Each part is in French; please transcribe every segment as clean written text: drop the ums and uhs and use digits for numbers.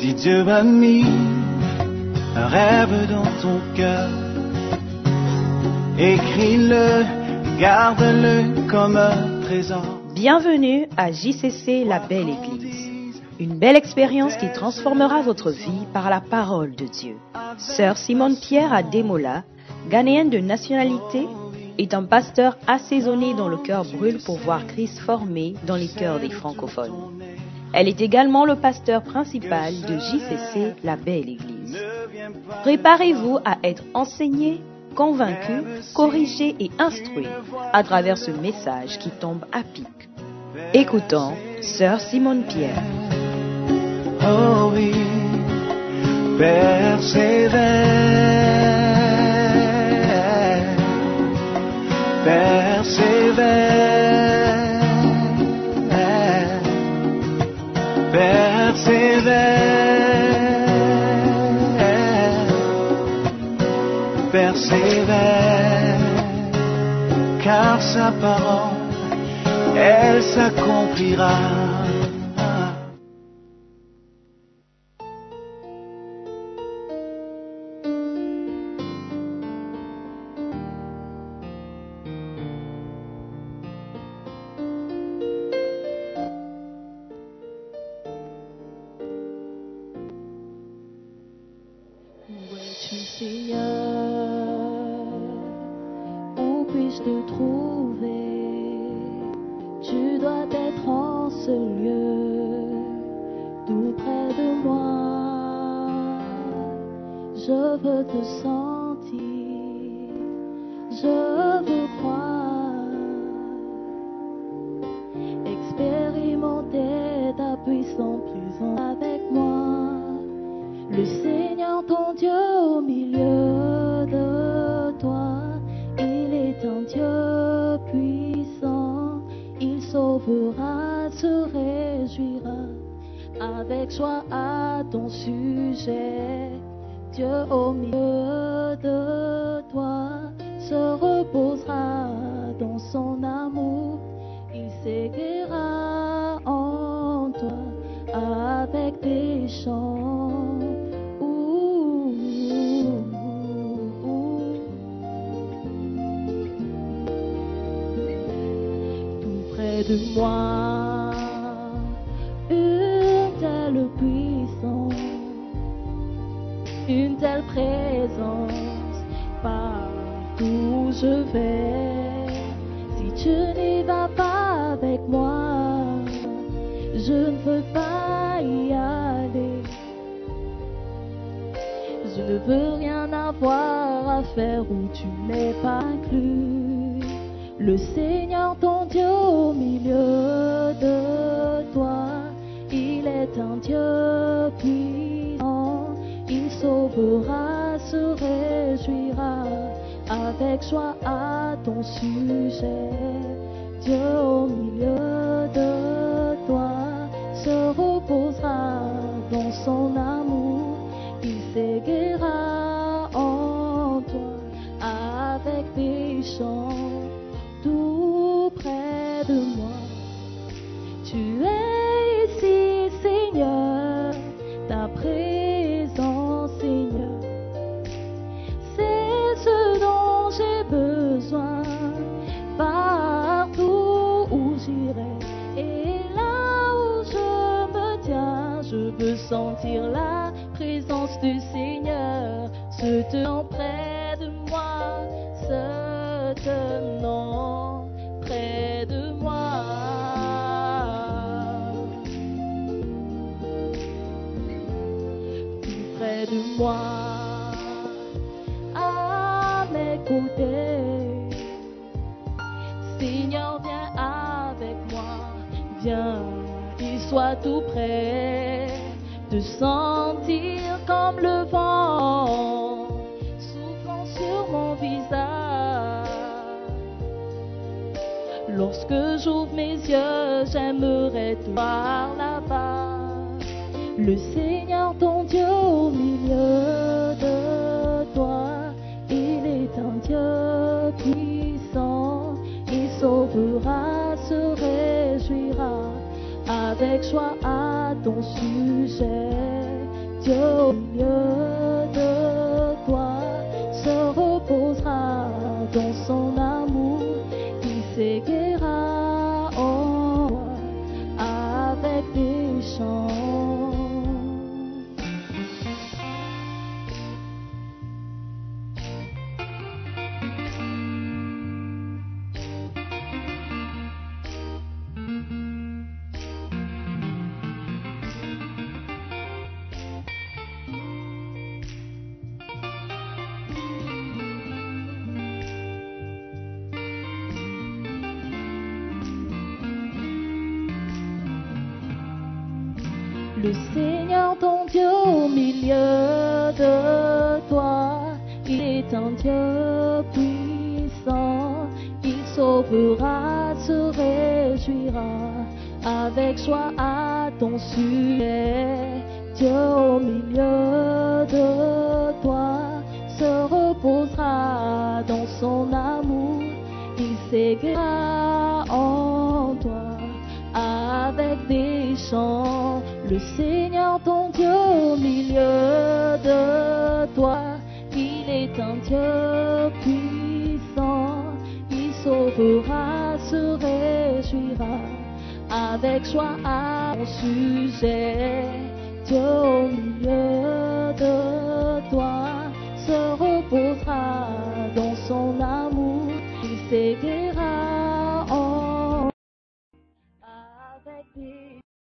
Si Dieu a mis un rêve dans ton cœur, écris-le, garde-le comme un trésor. Bienvenue à JCC, la belle église. Une belle expérience qui transformera votre vie par la parole de Dieu. Sœur Simone Pierre Ademola, ghanéenne de nationalité, est un pasteur assaisonné dont le cœur brûle pour voir Christ formé dans les cœurs des francophones. Elle est également le pasteur principal de JCC, la belle église. Préparez-vous à être enseigné, convaincu, corrigé et instruit à travers ce message qui tombe à pic. Écoutons Sœur Simone Pierre. Oh oui, persévère, persévère, persévère, persévère, car sa parole, elle s'accomplira. Où puis-je te trouver? Tu dois être en ce lieu, tout près de moi. Je veux te sentir, je veux croire, expérimenter ta puissance présence avec moi. Le Seigneur ton Dieu au milieu de toi, il est un Dieu puissant, il sauvera, se réjouira, avec joie à ton sujet. Dieu au milieu de toi se reposera dans son amour, il s'écrira en toi avec des chants. De moi, une telle puissance, une telle présence, partout où je vais. Si tu n'y vas pas avec moi, je ne veux pas y aller. Je ne veux rien avoir à faire où tu n'es pas inclus. Le Seigneur ton Dieu au milieu de toi, il est un Dieu puissant, il sauvera, se réjouira, avec joie à ton sujet. Dieu au milieu de toi se reposera dans son amour, il s'éguera en toi avec des chants. Tout près de moi, tu es ici, Seigneur, ta présence, Seigneur, c'est ce dont j'ai besoin, partout où j'irai, et là où je me tiens, je veux sentir la présence du Seigneur, se tenant près de moi, se tenant près de moi. Tout près de moi, à mes côtés. Seigneur, viens avec moi, viens et sois tout près, de sentir comme le vent soufflant sur mon visage. Lorsque j'ouvre mes yeux, j'aimerais te voir là-bas. Le Seigneur ton Dieu au milieu de toi, il est un Dieu puissant, il sauvera, se réjouira, avec joie à ton sujet. Dieu au milieu de toi se reposera dans son amour. Il s'éguera en toi avec des chants. Le Seigneur ton Dieu au milieu de toi, il est un Dieu puissant, il sauvera, se réjouira, avec joie à ton sujet. Dieu au milieu de toi se reposera dans son amour, il s'éguera en toi avec des chants. Le Seigneur ton Dieu au milieu de toi, il est un Dieu puissant, il sauvera, se réjouira, avec joie à ton sujet. Dieu au milieu de toi se reposera dans son amour, il s'éguera en avec des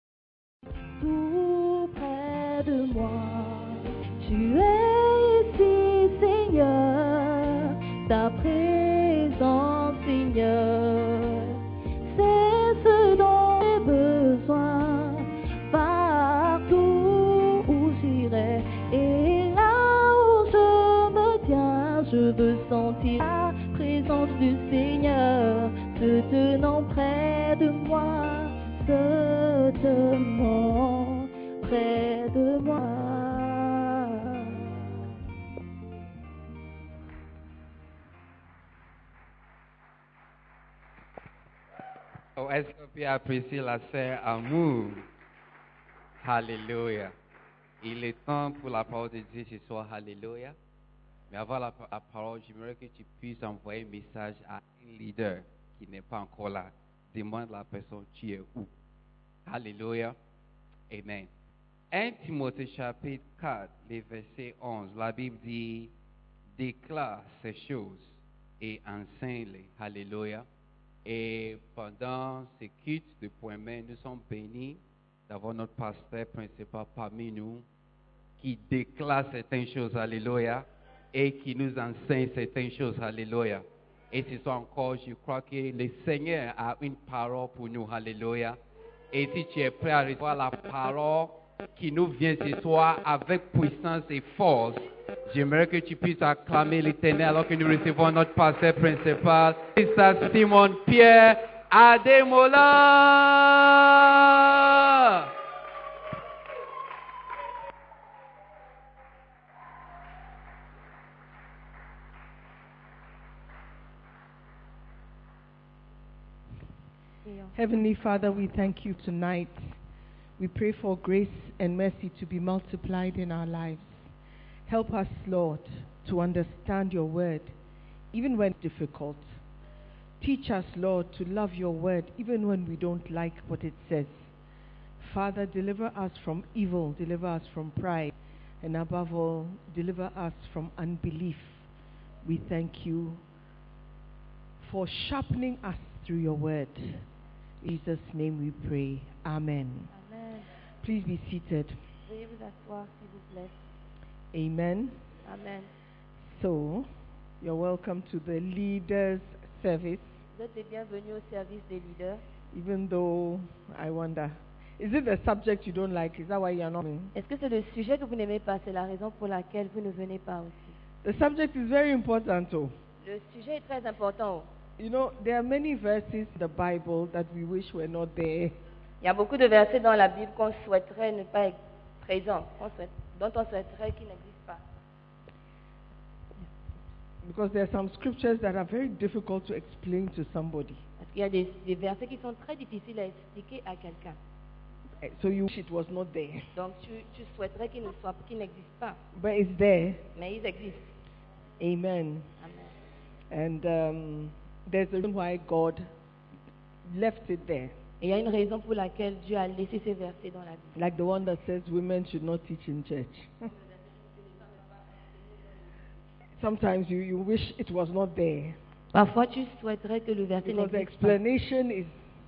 tout près de moi. Tu es ici, Seigneur, ta présence, Seigneur, c'est ce dont j'ai besoin. Partout où j'irai et là où je me tiens, je veux sentir la présence du Seigneur se tenant près de moi, se tenant près de moi. Oh, est-ce qu'on peut apprécier la sœur Amour? Alléluia. Il est temps pour la parole de Dieu ce soir. Alléluia. Mais avant la parole, j'aimerais que tu puisses envoyer un message à un leader qui n'est pas encore là. Demande à la personne, tu es où? Alléluia. Amen. 1 Timothée chapitre 4, les versets 11, la Bible dit, déclare ces choses et enseigne-les. Alléluia. Et pendant ces cultes de point main, nous sommes bénis d'avoir notre pasteur principal parmi nous qui déclare certaines choses. Alléluia. Et qui nous enseigne certaines choses. Alléluia. Et ce soir encore, je crois que le Seigneur a une parole pour nous. Alléluia. Et si tu es prêt à recevoir la parole qui nous vient ce soir avec puissance et force, j'aimerais que tu puisses acclamer l'Éternel alors que nous recevons notre pasteur principal, c'est Simon Pierre Ademola. Heavenly Father, we thank you tonight. We pray for grace and mercy to be multiplied in our lives. Help us, Lord, to understand your word, even when it's difficult. Teach us, Lord, to love your word, even when we don't like what it says. Father, deliver us from evil, deliver us from pride, and above all, deliver us from unbelief. We thank you for sharpening us through your word. In Jesus' name we pray. Amen. Amen. Please be seated. Veuillez vous asseoir, s'il vous plaît. Amen. Amen. So, you're welcome to the leaders' service, Vous êtes les bienvenus au service des leaders. even though I wonder, is it the subject you don't like? Is that why you're not coming? Est-ce que c'est le sujet que vous n'aimez pas? C'est la raison pour laquelle vous ne venez pas aussi. The subject is very important, too. Le sujet est très important. You know, there are many verses in the Bible that we wish were not there. Il y a beaucoup de versets dans la Bible qu'on souhaiterait ne pas être présents, dont on souhaiterait qu'ils n'existent pas. Because there are some scriptures that are very difficult to explain to somebody. Parce qu'il y a des versets qui sont très difficiles à expliquer à quelqu'un. So you wish it was not there. Donc tu souhaiterais qu'il n'existe pas, But it's there. mais ils existent. Amen. Amen. And there's a reason why God left it there. Et il y a une raison pour laquelle Dieu a laissé ces versets dans la Bible. Like the one that says women should not teach in church. Sometimes you wish it was not there. Parfois, tu souhaiterais que le verset Because the n'existe pas. explanation is,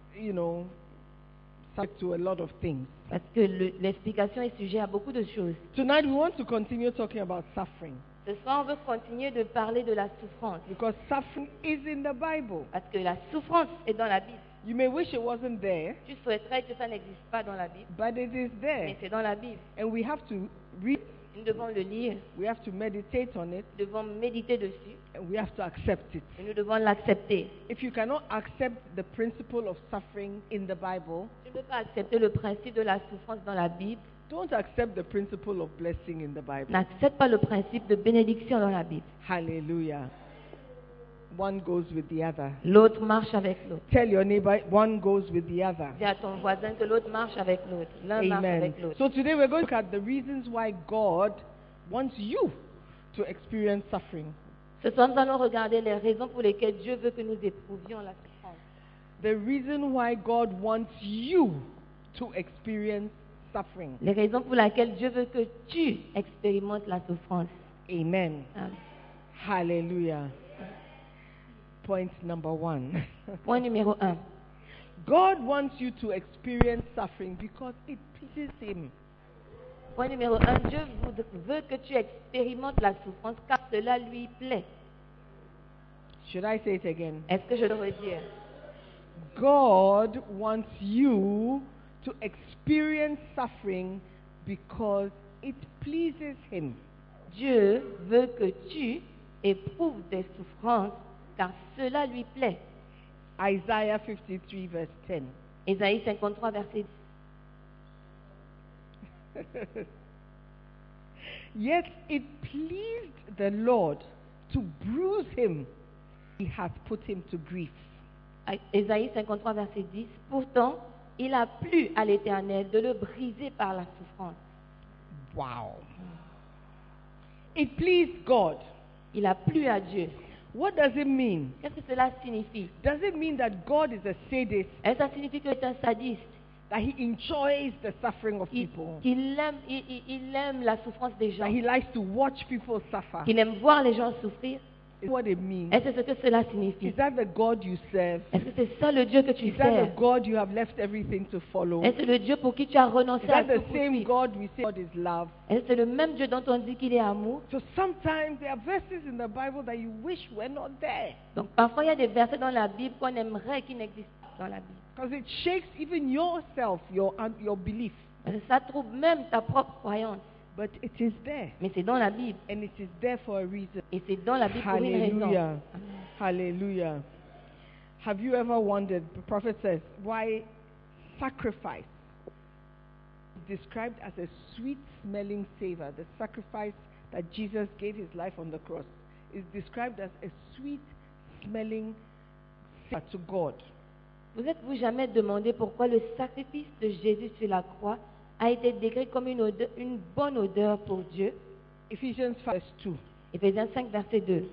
subject to a lot of things. Parce que l'explication est sujet à beaucoup de choses. Tonight we want to continue talking about suffering. Ce soir, on veut continuer de parler de la souffrance. Because suffering is in the Bible. Parce que la souffrance est dans la Bible. You may wish it wasn't there, Tu souhaiterais que ça n'existe pas dans la Bible, but it is there. mais c'est dans la Bible. And we have to read, Nous devons le lire, we have to meditate on it, nous devons méditer dessus, and we have to accept it. et nous devons l'accepter. If you cannot accept the principle of suffering in the Bible, Tu ne peux pas accepter le principe de la souffrance dans la Bible. don't accept the principle of blessing in the Bible. N'accepte pas le principe de bénédiction dans la Bible. Hallelujah. One goes with the other. L'autre marche avec l'autre. Tell your neighbor, one goes with the other. Dis à ton voisin que l'autre marche avec l'autre. L'un marche Amen. avec l'autre. So today we're going to look at the reasons why God wants you to experience suffering. Ce soir, nous allons regarder les raisons pour lesquelles Dieu veut que nous éprouvions la souffrance. The reason why God wants you to experience suffering. Les raisons pour lesquelles Dieu veut que tu expérimentes la souffrance. Amen. Amen. Hallelujah. Point number 1. Point numéro 1. God wants you to experience suffering because it pleases Him. Point numéro 1. Dieu veut que tu expérimentes la souffrance car cela lui plaît. Should I say it again? Est-ce que je le redire? God wants you to experience suffering because it pleases Him. Dieu veut que tu éprouves des souffrances car cela lui plaît. Isaiah 53 verse 10. Ésaïe 53, verset 10. Yet it pleased the Lord to bruise him. He hath put him to grief. Ésaïe 53, verset 10. Pourtant, il a plu à l'Éternel de le briser par la souffrance. Wow. It pleased God. Il a plu à Dieu. What does it mean? Qu'est-ce que cela signifie? Does it mean that God is a sadist, Est-ce que ça signifie qu'il est un sadiste? that he enjoys the suffering of Il, people, il aime la souffrance des gens. that he likes to watch people suffer? Il aime voir les gens souffrir. Is what it means? Est-ce que c'est ce que cela signifie? Is that the God you serve? Est-ce que c'est ça le Dieu que tu Is that the sers? God you have left everything to follow? Est-ce le Dieu pour qui tu as renoncé Is à that tout the pour same suivre? God we say God is love? Est-ce que c'est le même Dieu dont on dit qu'il est amour? So sometimes there are verses in the Bible that you wish were not there. Donc parfois il y a des versets dans la Bible qu'on aimerait qu'ils n'existent pas dans la Bible. Because it shakes even yourself, your belief. Parce que ça trouble même ta propre croyance. But it is there. Mais c'est dans la Bible. And it is there for a reason. Et c'est dans la Bible pour une raison. Hallelujah. Hallelujah. Have you ever wondered, the prophet says, why sacrifice is described as a sweet smelling savor? The sacrifice that Jesus gave his life on the cross is described as a sweet smelling savor to God. Vous êtes-vous jamais demandé pourquoi le sacrifice de Jésus sur la croix a été décrit comme une bonne odeur pour Dieu? Ephesians 5 verse 2. Éphésiens 5, verset 2.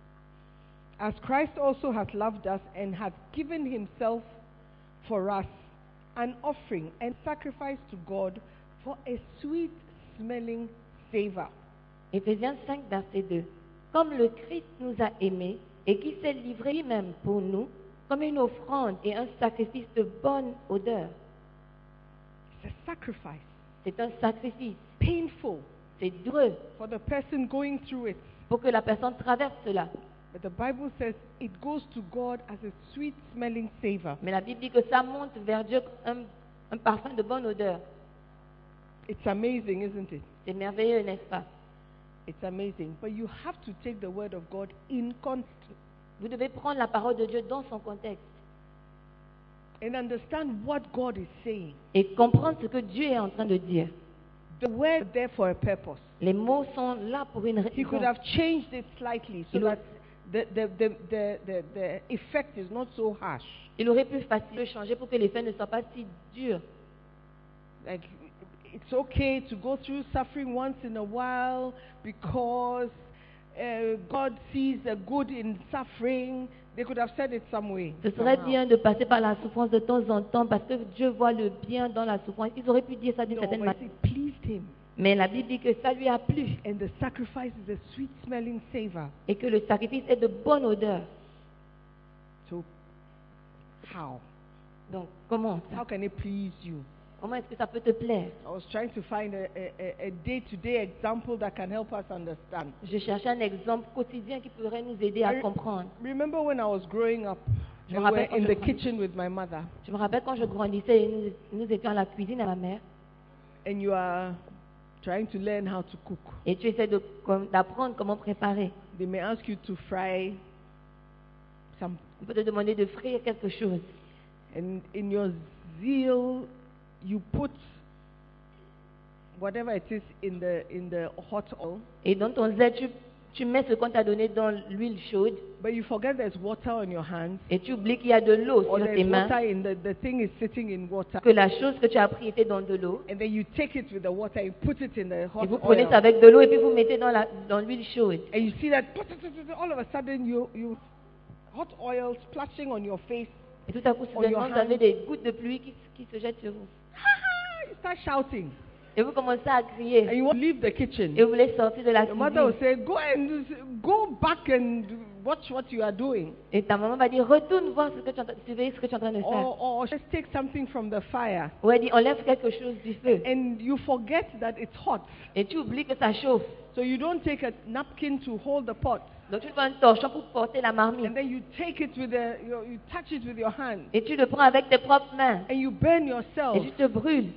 As Christ also hath loved us and hath given himself for us, an offering and sacrifice to God for a sweet smelling savor. Éphésiens 5, verset 2. Comme le Christ nous a aimés et qui s'est livré lui-même pour nous, comme une offrande et un sacrifice de bonne odeur. It's a sacrifice. C'est un sacrifice. Painful C'est douloureux for the person going through it. pour que la personne traverse cela. But the Bible says it goes to God as a sweet smelling savor. Mais la Bible dit que ça monte vers Dieu un parfum de bonne odeur. It's amazing, isn't it? C'est merveilleux, n'est-ce pas? It's amazing. But you have to take the word of God in context Vous devez prendre la parole de Dieu dans son contexte and understand what God is saying. et comprendre ce que Dieu est en train de dire. The word is there for a purpose. Les mots sont là pour une He could raison. have changed it slightly so Il aurait- that the effect is not so harsh. Il aurait pu facilement changer pour que l'effet ne soit pas si dur. like it's okay to go through suffering once in a while because God sees the good in suffering. They could have said it some way. Ce serait somehow. bien de passer par la souffrance de temps en temps parce que Dieu voit le bien dans la souffrance. Ils auraient pu dire ça d'une No, certaine but manière. it pleased him. Mais la Bible dit que ça lui a plu And the sacrifice is a sweet smelling savor. et que le sacrifice est de bonne odeur. So, how? Donc, comment ça? How can it please you? Comment est-ce que ça peut te plaire? I was trying to find a day-to-day example that can help us understand. Je cherchais un exemple quotidien qui pourrait nous aider à I comprendre. remember when I was growing up, Je we me were rappelle quand in je the grandissais. kitchen with my mother, Je me rappelle quand je grandissais et nous étions à la cuisine à ma mère and you are trying to learn how to cook. et tu essaies d'apprendre comment préparer. They may ask you to fry some, On peut te demander de frire quelque chose. and in your zeal, you put whatever it is in the hot oil, Et dans ton zèle, tu mets ce qu'on t'a donné dans l'huile chaude but you forget there's water on your hands, et tu oublies qu'il y a de l'eau or sur tes there's mains, water in the thing is sitting in water, que la chose que tu as pris était dans de l'eau. and then you take it with the water and put it in the Et hot vous prenez oil, ça avec de l'eau et puis vous mettez dans l'huile chaude. and you see that all of a sudden you hot oil splashing on your face. Et tout à coup, On your soudainement, vous avez hand. des gouttes de pluie qui se jettent sur vous. You start shouting, Et vous commencez à and crier. you want to leave the kitchen. Et vous voulez sortir de la Your mother will cuisine. say, go back and watch what you are doing. Et ta maman va dire, retourne voir ce que tu es en train, surveiller ce que tu es en train de faire. Or just take something from the fire. Ou elle dit, enlève quelque chose du feu. And you forget that it's hot. Et tu oublies que ça chauffe. So you don't take a napkin to hold the pot. Donc tu prends un torchon pour porter la marmite. And then you take it with you touch it with your hand. Et tu le prends avec tes propres mains. And you burn Et yourself. tu te brûles.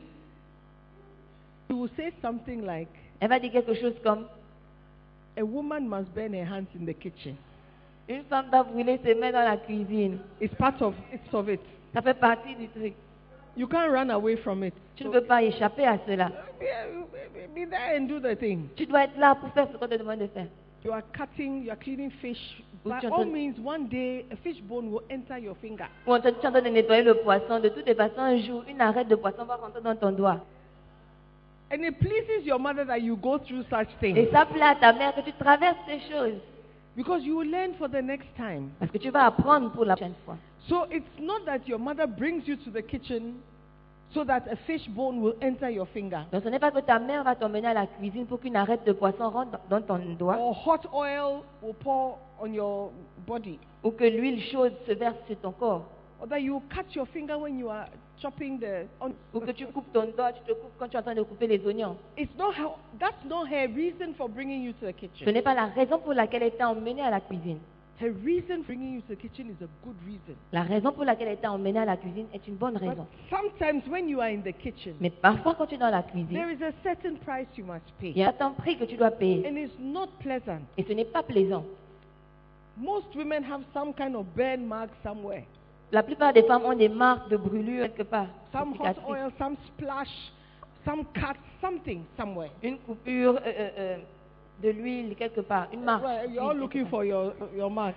You will say something like, Elle va dire quelque chose comme, a woman must burn her hands in the kitchen. une femme doit brûler ses mains dans la cuisine. It's part of it. Ça fait partie du truc. You can't run away from it. Tu ne peux pas échapper à cela. Be there and do the thing. Tu dois être là pour faire ce qu'on te demande de faire. You are cleaning fish. Ou By tu es en all train- means, one day a fish bone will enter your finger. Ou tu es en train de nettoyer le poisson. De toutes les façons, un jour, une arête de poisson va rentrer dans ton doigt. And it pleases your mother that you go through such Et things. ça plaît à ta mère que tu traverses ces choses. Because you will learn for the next time. Parce que tu vas apprendre pour la prochaine fois. So it's not that your mother brings you to the kitchen so that a fish bone will enter your finger. Donc ce n'est pas que ta mère va t'emmener à la cuisine pour qu'une arête de poisson rentre dans ton doigt. Or hot oil will pour on your body. Ou que l'huile chaude se verse sur ton corps. Or that you cut your finger when you are chopping the... Ou que tu coupes ton doigt, tu te coupes quand tu es en train de couper les oignons. That's not her reason for bringing you to the Ce kitchen. n'est pas la raison pour laquelle elle t'a emmené à la cuisine. Her reason for bringing you to the kitchen is a good reason. La raison pour laquelle elle t'a emmené à la cuisine est une bonne But raison. sometimes when you are in the kitchen, Mais parfois, quand tu es dans la cuisine, there is a certain price you must il y pay. a un certain prix que tu dois payer. And it's not pleasant. Et ce n'est pas plaisant. Most women have some kind of burn mark somewhere. La plupart des femmes ont des marques de brûlure quelque part. Some des hot cicatrices. oil, some splash, some cut, something somewhere. Une coupure de l'huile quelque part. Une marque. Well, you're all d'huile looking quelque for your mark.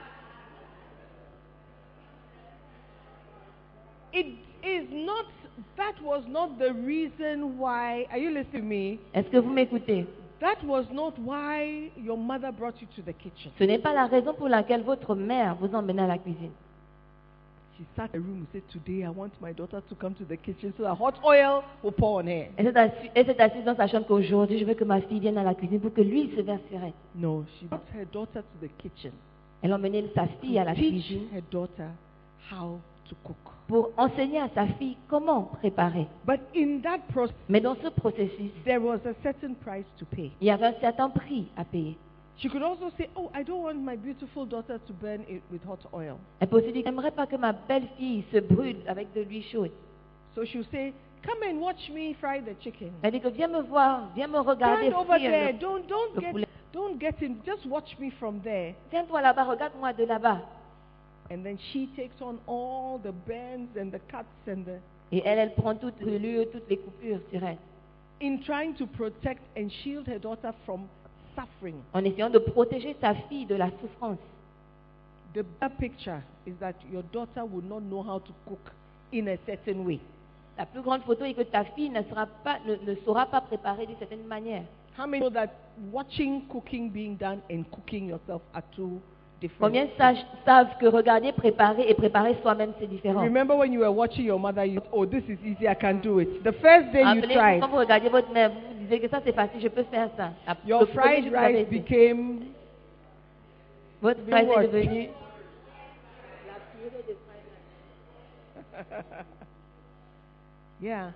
That was not the reason why, are you listening to me? part. Est-ce que vous m'écoutez? That was not why your mother brought you to the kitchen. Ce n'est pas la raison pour laquelle votre mère vous emmène à la cuisine. She sat in the room and said, today I want my daughter to come to the kitchen so that hot oil will pour on her. Elle s'est assise dans sa chambre qu'aujourd'hui, je veux que ma fille vienne à la cuisine pour que l'huile se verse sur elle. No, she brought her daughter to the kitchen Elle a emmené sa fille à la teach cuisine her daughter how to cook. pour enseigner à sa fille comment préparer. But in that process, Mais dans ce processus, there was a certain price to pay. il y avait un certain prix à payer. She could also say, oh, I don't want my beautiful daughter to burn it with hot oil. Elle peut aussi dire, j'aimerais pas que ma belle-fille se brûle avec de l'huile chaude. So she'll say, come and watch me fry the chicken. Elle dit que viens me voir, viens me regarder Stand over frire there. le- Don't poulet. don't get in. Just watch me from there. Tiens-toi là-bas, regarde-moi de là-bas. And then she takes on all the bends and the cuts and the Et elle prend toute brûlure, toutes les coupures sur elle. in trying to protect and shield her daughter from suffering. En essayant de protéger sa fille de la souffrance. The bigger picture is that your daughter will not know how to cook in a certain way. La plus grande photo est que ta fille ne saura pas préparer d'une certaine manière. How many know that watching cooking being done and cooking yourself are two different? Combien savent que regarder, préparer et préparer soi-même, c'est différent? Remember when you were watching your mother, you oh, this is easy, I can do it. The first day you Rappelez-vous, tried, quand vous regardez votre mère, vous vous disiez que ça c'est facile, je peux faire ça. your Le premier fried jour, vous avez rice été. became Votre Be phrase what? est devenue yeah.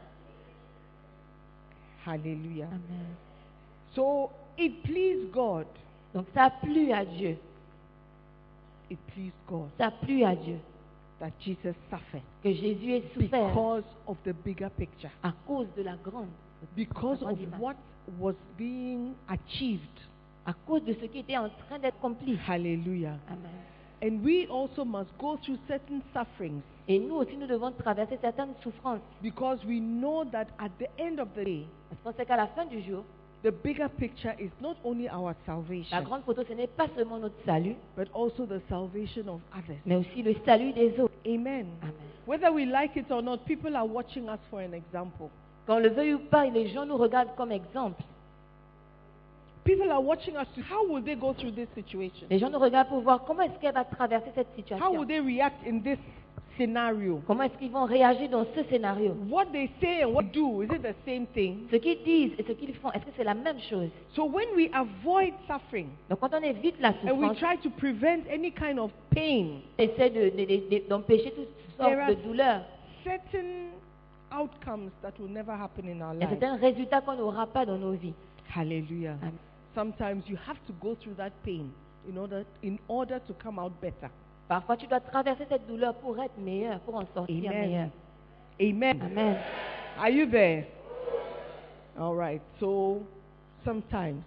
Hallelujah. Amen. So it pleased God. Donc ça a plu à Dieu. It pleased God Ça a plu à Dieu that Jesus suffered que Jésus ait souffert because of the bigger picture, à cause de la grande, because la of grande image. what was being achieved. À cause de ce qui était en train d'être accompli. Hallelujah. Amen. And we also must go through certain sufferings Et nous aussi, nous devons traverser certaines souffrances. because we know that at the end of the day, Parce qu'on sait qu'à la fin du jour, the bigger picture is not only our la salvation, grande photo, ce n'est pas seulement notre salut, but also the salvation of others. mais aussi le salut des autres. Amen. Amen. Whether we like it or not, people are watching us for an example. Qu'on le veuille ou pas, les gens nous regardent comme exemple. People are watching us to how will they go through this situation? Les gens nous regardent pour voir comment est-ce qu'elle va traverser cette How situation. will they react in this scenario? Comment est-ce qu'ils vont réagir dans ce scénario. What they say and what they do, is it the same thing? Ce qu'ils disent et ce qu'ils font, est-ce que c'est la même chose? So when we avoid suffering Donc quand on évite la and we souffrance, try to prevent any kind of pain, on essaie d'empêcher toutes sortes There are- de douleurs. certain outcomes that will never happen in our Il y a lives. certains résultats qu'on n'aura pas dans nos vies. Hallelujah. Amen. Sometimes you have to go through that pain in order to come out better. Parfois, tu dois traverser cette douleur pour être meilleur, pour en sortir meilleur. Amen. Amen. Amen. Are you there? All right. So sometimes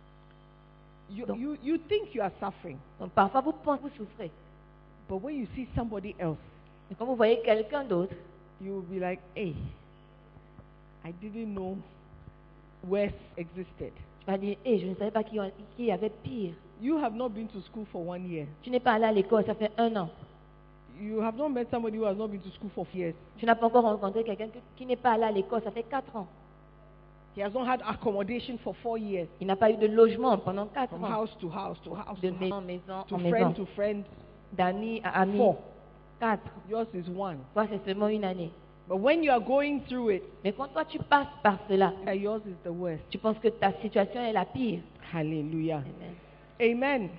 you think you are suffering, Donc parfois, vous pensez que vous souffrez. but when you see somebody else, Et quand vous voyez quelqu'un d'autre, you will be like, hey, I didn't know worse existed. tu vas dire, je ne savais pas qu'il y avait pire. You have not been to school for 1 year. Tu n'es pas allé à l'école, ça fait 1 an. You have not met somebody who has not been to school for years. Tu n'as pas encore rencontré quelqu'un qui n'est pas allé à l'école, ça fait 4 ans. He has not had accommodation for 4 years. Il n'a pas eu de logement pendant 4 From ans. house to house to house De to maison en house, maison to en friend maison. to friend. D'amis à amis. 4. 4. Yours is 1. Toi, c'est seulement 1 année. But when you are going through it, Mais quand toi, tu passes par cela, yours is the worst. tu penses que ta situation est la pire. Hallelujah. Amen. Amen.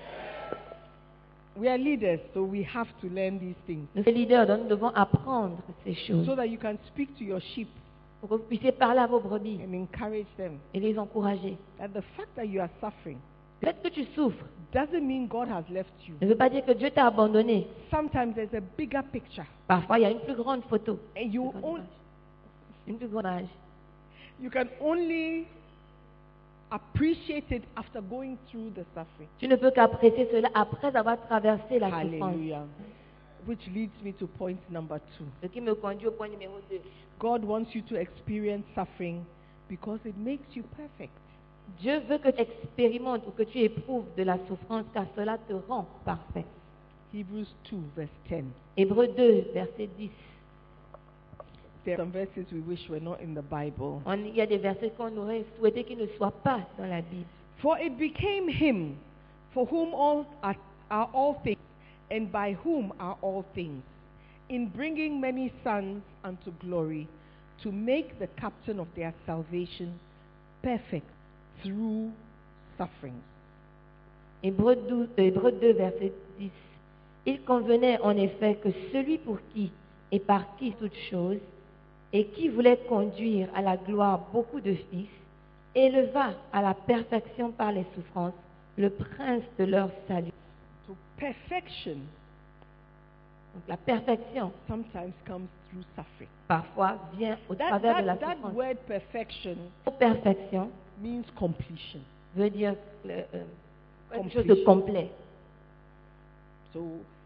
We are leaders, so we have to learn these things Nous sommes leaders, donc nous devons apprendre ces choses. so that you can speak to your sheep Pour que vous puissiez parler à vos brebis and encourage them. et les encourager. That the fact that you are suffering Le fait que tu souffres doesn't mean God has left you. ne veut pas dire que Dieu t'a abandonné. Sometimes there's a bigger picture, Parfois, il y a une plus grande photo. and you Une plus grande image. can only appreciate it after going through the suffering. Tu ne peux qu'apprécier cela après avoir traversé la souffrance. Hallelujah. Which leads me to point number 2. Ce qui me conduit au point numéro 2. God wants you to experience suffering because it makes you perfect. Dieu veut que tu expérimentes ou que tu éprouves de la souffrance car cela te rend parfait. Hebrews 2, verse 10. Hébreux 2, verset 10. There are some verses we wish were not in the Bible. Il y a des versets qu'on aurait souhaité qu'ils ne soient pas dans la Bible. For it became him for whom all are all things, and by whom are all things, in bringing many sons unto glory, to make the captain of their salvation perfect through sufferings. Hébreux 2, verset 10. Il convenait en effet que celui pour qui et par qui toutes choses, et qui voulait conduire à la gloire beaucoup de fils, éleva à la perfection par les souffrances le prince de leur salut. So perfection Donc la perfection, sometimes comes through suffering. parfois, vient au travers de la That souffrance. word perfection Perfection means completion. veut dire quelque chose de complet. So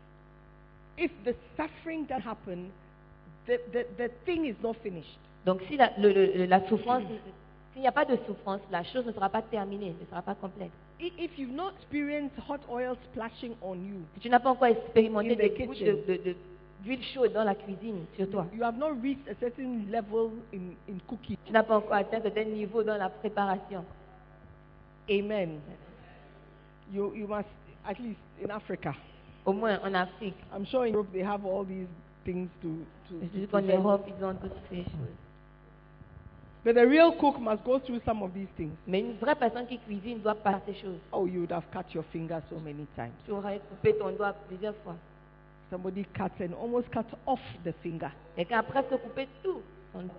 if the suffering that happened, the thing is not finished. Donc si la souffrance, s'il n'y a pas de souffrance, la chose ne sera pas terminée, ne sera pas complète. If you've not experienced hot oil splashing on you, Si tu n'as pas encore expérimenté In the des gouttes kitchen. d'huile chaude dans la cuisine sur toi. You have not reached a certain level in cooking. Tu n'as pas encore atteint un certain niveau dans la préparation. Amen. You must, at least in Africa. Au moins en Afrique. I'm sure in Europe they have all these things to Je dis qu'en present. Europe, ils ont toutes ces choses. But the real cook must go through some of these things. Mais une vraie personne qui cuisine doit passer ces choses. Oh, you would have cut your finger so many times. Tu aurais coupé ton doigt plusieurs fois. Somebody cut and almost cut off the finger. Quelqu'un a presque coupé tout son doigt.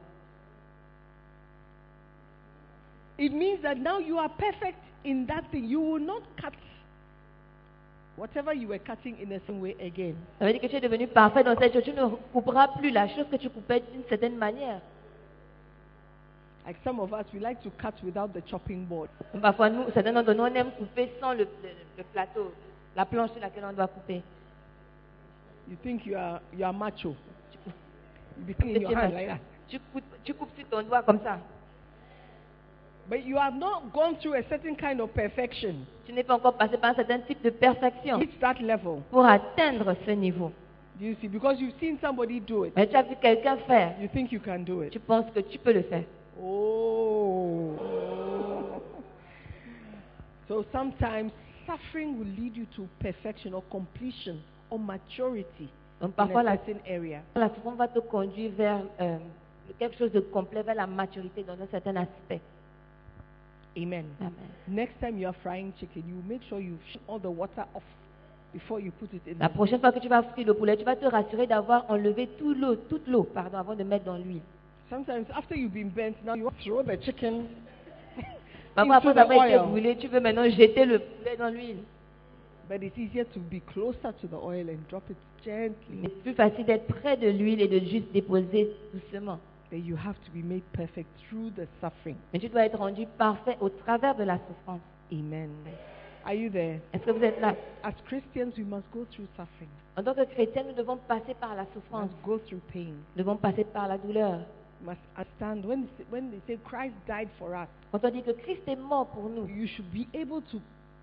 It means that now you are perfect in that thing. You will not cut whatever you were cutting in the same way again. Ça veut dire que tu es devenu parfait dans cette chose. Tu ne couperas plus la chose que tu coupais d'une certaine manière. Like some of us, we like to cut without the chopping board. Parfois, nous, certains d'entre nous, on aime couper sans le plateau, la planche sur laquelle on doit couper. You think you are macho. You be cleaning your hand like that. Tu coupes sur ton doigt comme ça. But you have not gone through a certain kind of perfection. Tu n'es pas encore passé par un certain type de perfection Reach that level. pour atteindre ce niveau. Do you see? Because you've seen somebody do it. Mais tu as vu quelqu'un faire. You think you can do it. Tu penses que tu peux le faire. Oh. So sometimes suffering will lead you to perfection or completion or maturity Donc in parfois, a la certain area. souffrance va te conduire vers quelque chose de complet, vers la maturité dans un certain aspect. Amen. Amen. Next time you are frying chicken, you make sure you shut all the water off before you put it in. La prochaine fois que tu vas frire le poulet, tu vas te rassurer d'avoir enlevé toute l'eau, avant de mettre dans l'huile. Sometimes after you've been burnt, now you throw the chicken Parfois, into après the avoir été oil. brûlé, tu veux maintenant jeter le poulet dans l'huile. But it's easier to be closer to the oil and drop it Mais gently. c'est plus facile d'être près de l'huile et de juste déposer doucement. Then you have to be made perfect through the suffering. Mais tu dois être rendu parfait au travers de la souffrance. Amen. Are you there? Est-ce que vous êtes là? As Christians, we must go through suffering. En tant que chrétiens, nous devons passer par la We souffrance. must go through pain. Nous devons passer par la douleur. We must understand when they say Christ died for us, Quand on dit que Christ est mort pour nous, you should be able to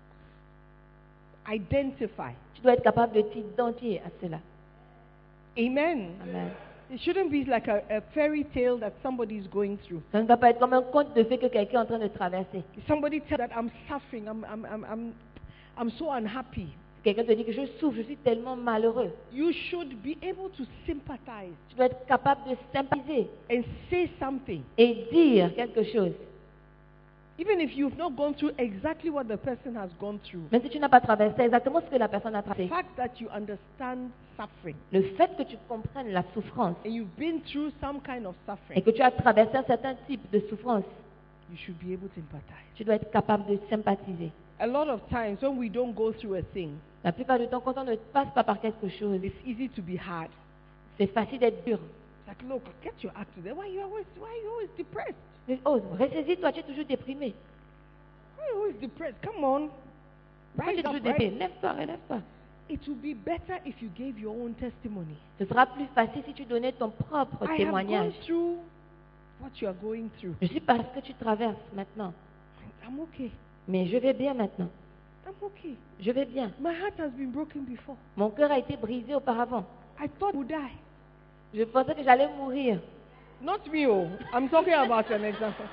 identify. tu dois être capable de t'identifier à cela. Amen. Amen. It shouldn't be like a fairy tale that somebody is going through. Ça ne doit pas être comme un conte de fait que quelqu'un est en train de traverser. Somebody tell that I'm suffering, I'm so unhappy. Quelqu'un te dit que je souffre, je suis tellement malheureux. You should be able to sympathize Tu dois être capable de sympathiser and say something. et dire quelque chose. Even if you've not gone through exactly what the person has gone through. Même si tu n'as pas traversé exactement ce que la personne a The traversé. fact that you understand suffering Le fait que tu comprennes la souffrance and you've been through some kind of et suffering, que tu as traversé un certain type de souffrance, you should be able to empathize. tu dois être capable de sympathiser. A lot of times when we don't go through a thing, La plupart du temps, quand on ne passe pas par quelque chose, it's easy to be hard. c'est facile d'être dur. It's like, look, get your act together. Why are you always depressed? Oh, ressaisis-toi, tu es toujours déprimé. Why are you always depressed? Come on. Pourquoi tu es Rise toujours up, déprimé? right? Lève-toi, relève-toi. It would be better if you gave your own testimony. Ce sera plus facile si tu donnais ton propre I have témoignage. gone through what you are going through. Je suis par ce que tu traverses maintenant, I'm okay. mais je vais bien maintenant. I'm okay. Je vais bien. My heart has been broken before. Mon cœur a été brisé auparavant. I thought I would die. Je pensais que j'allais mourir. Not me, oh. I'm talking about an example.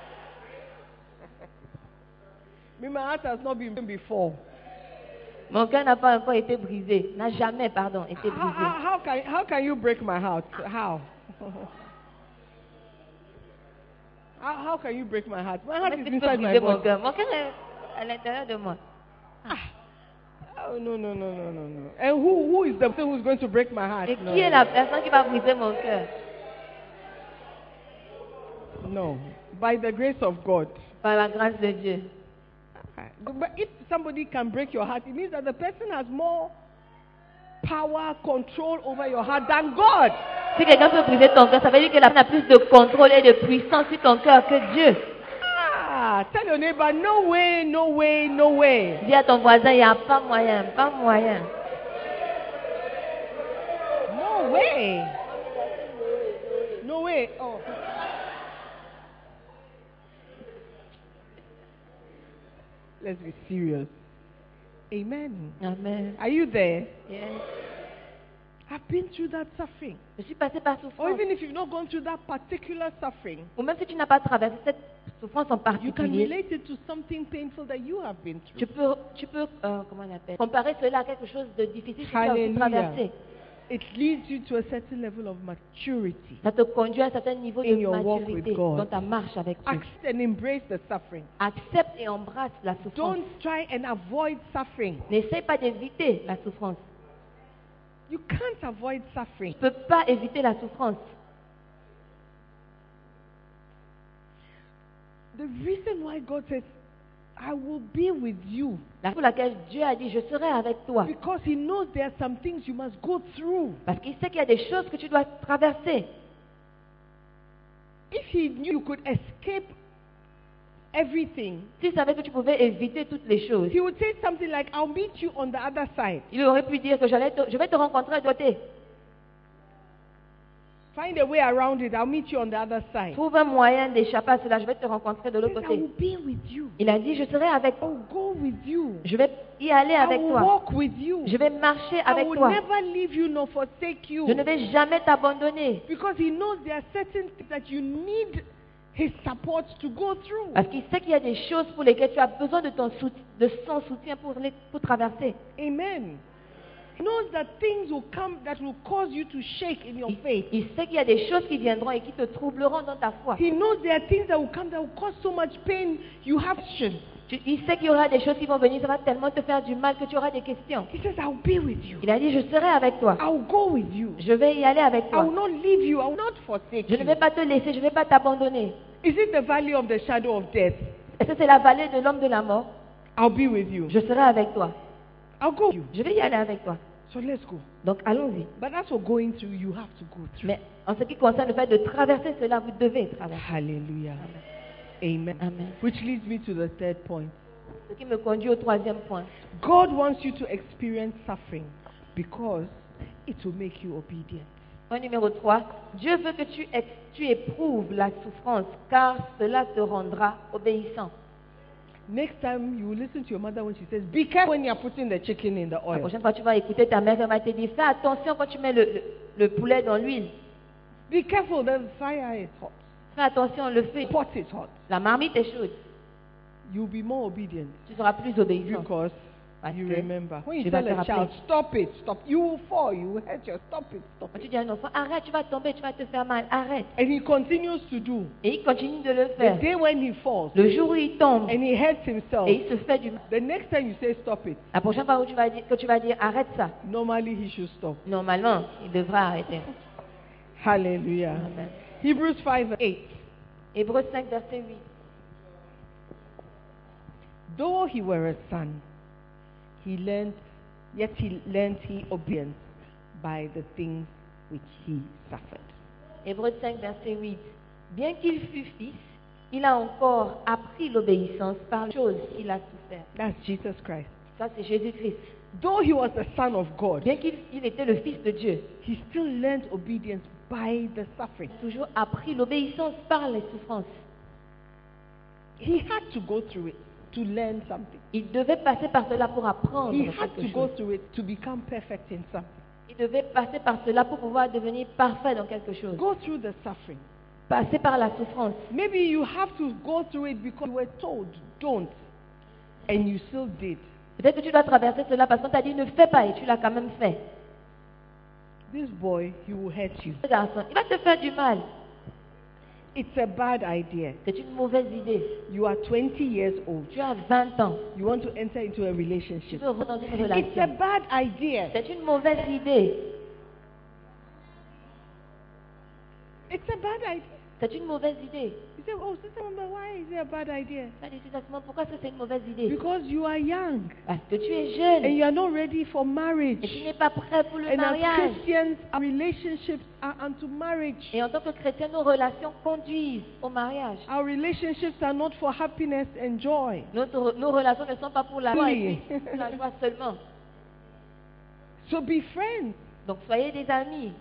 Me, my heart has not been broken before. Mon cœur n'a pas encore été brisé. N'a jamais, pardon, été brisé. How can you break my heart? How? How can you break my heart? My heart Comment is est-ce que tu peux inside my briser mon body. cœur? Mon cœur est à l'intérieur de moi. Oh, no. And who is the person who's going to break my heart? Et qui est la personne qui va briser mon cœur? No. By the grace of God. Par la grâce de Dieu. But if somebody can break your heart, it means that the person has more power, control over your heart than God. Si quelqu'un peut briser ton cœur, ça veut dire que la personne a plus de contrôle et de puissance sur ton cœur que Dieu. Tell your neighbor, no way, no way, no way. Dis à ton voisin, il n'y a pas moyen, pas moyen. No way. No way. Oh. Let's be serious. Amen. Amen. Are you there? Yes. I've been through that suffering. Je suis passé par Or souffrance. even if you've not gone through that particular suffering, Ou même si tu n'as pas traversé cette souffrance en you can particulier, relate it to something painful that you have been through. tu peux comment on appelle, comparer cela à quelque chose de difficile que tu as aussi Hallelujah. traversé. It leads you to a certain level of maturity. Ça te conduit à un certain niveau In de your walk maturité with God. dans ta marche avec Dieu. Accept and embrace the suffering. Accepte et embrasse la souffrance. Don't try and avoid suffering. N'essaie pas d'éviter la souffrance. You can't avoid suffering. Tu ne peux pas éviter la souffrance. The reason why God says, I will be with you, La raison pour laquelle Dieu a dit, je serai avec toi. because He knows there are some things you must go through. Parce qu'il sait qu'il y a des choses que tu dois traverser. If He knew you could escape everything, S'il savait que tu pouvais éviter toutes les choses, He would say something like, I'll meet you on the other side. il aurait pu dire que je vais te rencontrer de côté. Find a way around it. I'll meet you on the other side. Trouve un moyen d'échapper à cela, je vais te rencontrer de He l'autre says, I will côté. be with you. Il a dit, je serai avec I toi. will go with you. Je vais y aller I avec will toi. walk with you. Je vais marcher I avec will toi. never leave you nor forsake you. Je ne vais jamais t'abandonner. Because He knows there are certain things that you need His support to go through. Parce qu'il sait qu'il y a des choses pour lesquelles tu as besoin de son soutien pour traverser. Amen. He knows that things will come that will cause you to shake in your faith. Il sait qu'il y a des choses qui viendront et qui te troubleront dans ta foi. He knows there are things that will come that will cause so much pain. You have questions. Il sait qu'il y aura des choses qui vont venir, ça va tellement te faire du mal que tu auras des questions. He says, I'll be with you. Il a dit, je serai avec toi. I'll go with you. Je vais y aller avec I toi. will not leave you. I will not forsake Je ne vais you. pas te laisser, je ne vais pas t'abandonner. Is it the valley of the shadow of death? Est-ce que c'est la vallée de l'homme de la mort? I'll be with you. Je serai avec toi. I'll go with you. Je vais y aller avec toi. So let's go. Donc allons-y. But that's what going through, you have to go through. Mais en ce qui concerne le fait de traverser cela, vous devez traverser. Hallelujah. Amen. Amen. Which leads me to the third point. Ce qui me conduit au troisième point. God wants you to experience suffering because it will make you obedient. Point numéro 3. Dieu veut que tu éprouves la souffrance, car cela te rendra obéissant. Next time you will listen to your mother when she says, be careful when you are putting the chicken in the La oil. prochaine fois, tu vas écouter ta mère, elle va te dire, fais attention quand tu mets le poulet dans l'huile. Be careful, the fire is hot. Fais attention, le feu. The pot is hot. La marmite est chaude. You'll be more obedient Tu seras plus obéissant. because Parce you que remember. When you tu vas tell te a child, rappeler. stop it, stop, you will fall, you will hurt your, stop it, stop Quand it. tu dis à un enfant, arrête, tu vas tomber, tu vas te faire mal, arrête. And he continues to do. Et il continue de le The faire. day when he falls Le jour où il tombe and he hurts himself, et il se fait du mal. the next time you say stop it, La prochaine fois où que tu vas dire arrête ça, normally he should stop. normalement, il devra arrêter. Hallelujah. Amen. Hebrews 5:8. Hébreux 5, verset 8. Though he were a son, yet he learned obedience by the things which he suffered. Hébreux 5, verset 8. Bien qu'il fût fils, il a encore appris l'obéissance par les choses qu'il a souffert. That's Jesus Christ. Ça, c'est Jésus-Christ. Though he was the son of God, Bien qu'il était le fils de Dieu, he still learned obedience by the suffering. il a toujours appris l'obéissance par les souffrances. He had to go through it to learn something. Il devait passer par cela pour apprendre He had quelque to go chose. through it to become perfect in something. Il devait passer par cela pour pouvoir devenir parfait dans quelque chose. Go through the suffering. Passer par la souffrance. Maybe you have to go through it because you were told, don't, and you still did. Peut-être que tu dois traverser cela parce qu'on t'a dit ne fais pas et tu l'as quand même fait. This boy, he will hurt you. Ce garçon, il va te faire du mal. It's a bad idea. C'est une mauvaise idée. You are 20 years old. Tu as 20 ans. You want to enter into a Tu relationship. veux rentrer dans une It's a relation. bad idea. C'est une mauvaise idée. It's a bad idea. C'est une mauvaise idée. You say, oh, Sister Mamba, why is it a bad idea? Ça dit exactement pourquoi ça, c'est une mauvaise idée. Because you are young Parce que tu es and jeune you are not ready for et tu marriage. n'es pas prêt pour le And as mariage. Christians, our relationships are unto marriage. Et en tant que chrétien, nos relations conduisent au mariage. Our relationships are not for happiness and joy. Nos relations ne sont pas pour la joie, et Oui. puis pour la joie seulement. So be friends. Donc soyez des amis.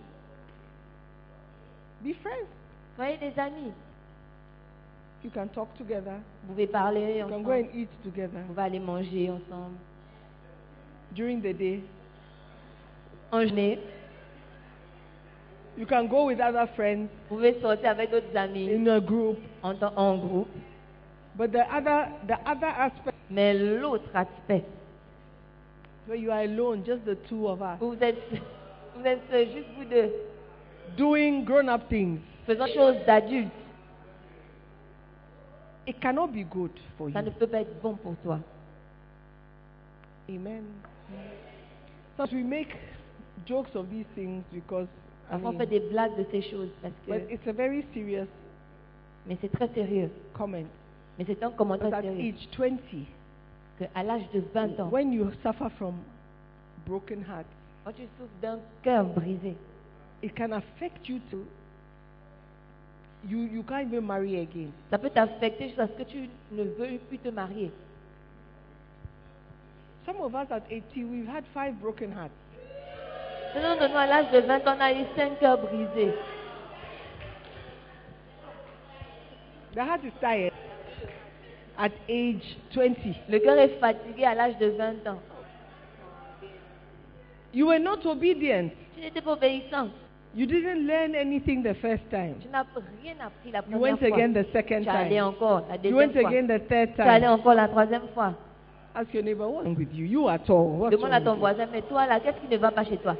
Be friends. Soyez des amis. You can talk together. Vous pouvez parler You can go ensemble. and eat together Vous pouvez aller manger ensemble. during the day. En journée. You can go with other friends Vous pouvez sortir avec d'autres amis in a group. en groupe. But the other aspect Mais l'autre aspect, where you are alone, just the two of us, vous êtes seuls, juste vous deux, doing grown-up things, faisant choses d'adultes, it cannot be good for ça you. ne peut pas être bon pour toi. Amen. So we make jokes of these things because Parfois, on fait des blagues de ces choses parce but que, it's a very serious mais c'est très sérieux. comment. Mais c'est un commentaire But at sérieux. age 20, Qu'à l'âge de 20 ans, when you suffer from broken heart, quand tu souffres d'un cœur brisé, it can affect you to you can't even marry again. ça peut t'affecter jusqu'à ce que tu ne veuilles plus te marier. Some of us at 80, we've had 5 broken hearts. Certains de nous, à l'âge de 20 ans, on a eu 5 cœurs brisés. The heart is tired at age 20. Le cœur est fatigué à l'âge de 20 ans. You were not obedient. Tu n'étais pas obéissant. You didn't learn anything the first time. Tu n'as rien appris la You première went fois. again the second Tu allais time. encore la You deuxième went fois. again the third Tu allais time. encore la troisième fois. Ask your neighbor, what's wrong with you? You at all? What's Demande à wrong ton with you? voisin, mais toi là, qu'est-ce qui ne va pas chez toi?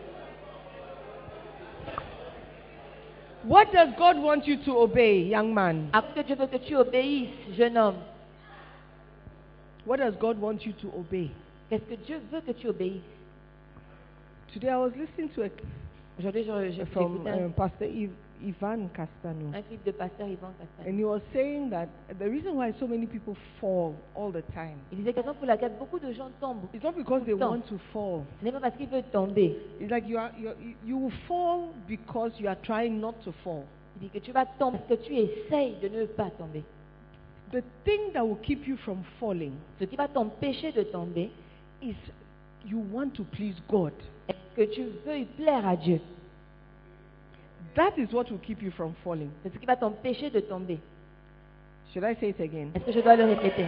What does God want you to obey, young man? À que Dieu veut que tu obéisses, jeune homme. What does God want you to obey? Qu'est-ce que Dieu veut que tu obéisses? Today I was listening to Aujourd'hui, je from écouté un Pastor Ivan Castano, clip de pasteur Yvan Castan. and he was saying that the reason why so many people fall all the time Il disait que la raison pour laquelle beaucoup de gens tombent, it's not because they tout le temps. want to fall. Ce n'est pas parce qu'ils veulent tomber. It's like you will fall because you are trying not to fall. Il dit que tu vas tomber parce que tu essayes de ne pas tomber. The thing that will keep you from falling Ce qui va t'empêcher de tomber, is you want to please God. est que tu veuilles plaire à Dieu. That is what will keep you from falling. C'est ce qui va t'empêcher de tomber. Should I say it again? Est-ce que je dois le répéter?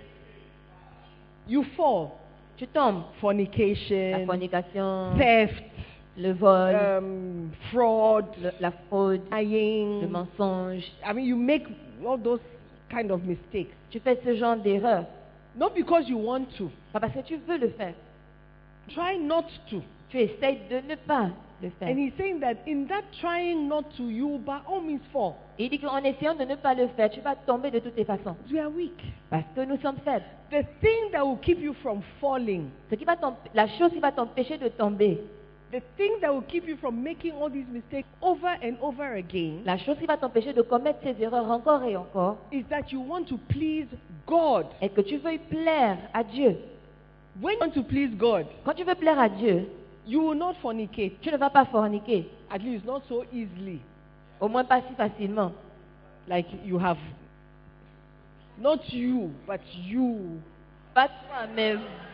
You fall. Tu tombes. La Fornication, fornication, theft, le vol, fraud, la fraude, le lying. mensonge. I mean, you make all those kind of mistakes. Tu fais ce genre d'erreur. Not because you want to. Pas parce que tu veux le faire. Try not to. Tu essayes de ne pas le faire. And he's saying that in that trying not to, you will by all means fall. Et il dit qu'en essayant de ne pas le faire, tu vas tomber de toutes les façons. We are weak. Parce que nous sommes faibles. The thing that will keep you from falling, La chose qui va t'empêcher de tomber, the thing that will keep you from making all these mistakes over and over again, la chose qui va t'empêcher de commettre ces erreurs encore et encore, is that you want to please God. est que tu veuilles plaire à Dieu. When you want to please God, Quand tu veux plaire à Dieu, you will not fornicate. tu ne vas pas forniquer. At least not so easily. Au moins pas si facilement. Like you have, not you, but you Pas toi, mais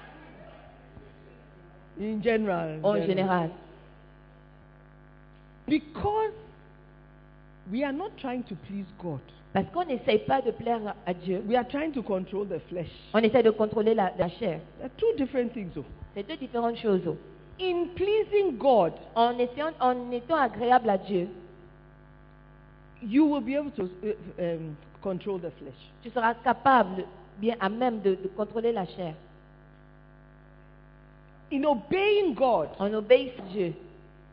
in general. en général. Because we are not trying to please God. Parce qu'on n'essaye pas de plaire à Dieu. We are trying to control the flesh. On essaie de contrôler la chair. There are two different things. Though. C'est deux différentes choses. In pleasing God, En étant agréable à Dieu, you will be able to control the flesh. tu seras capable, bien à même de contrôler la chair. In obeying God, En obéissant à Dieu,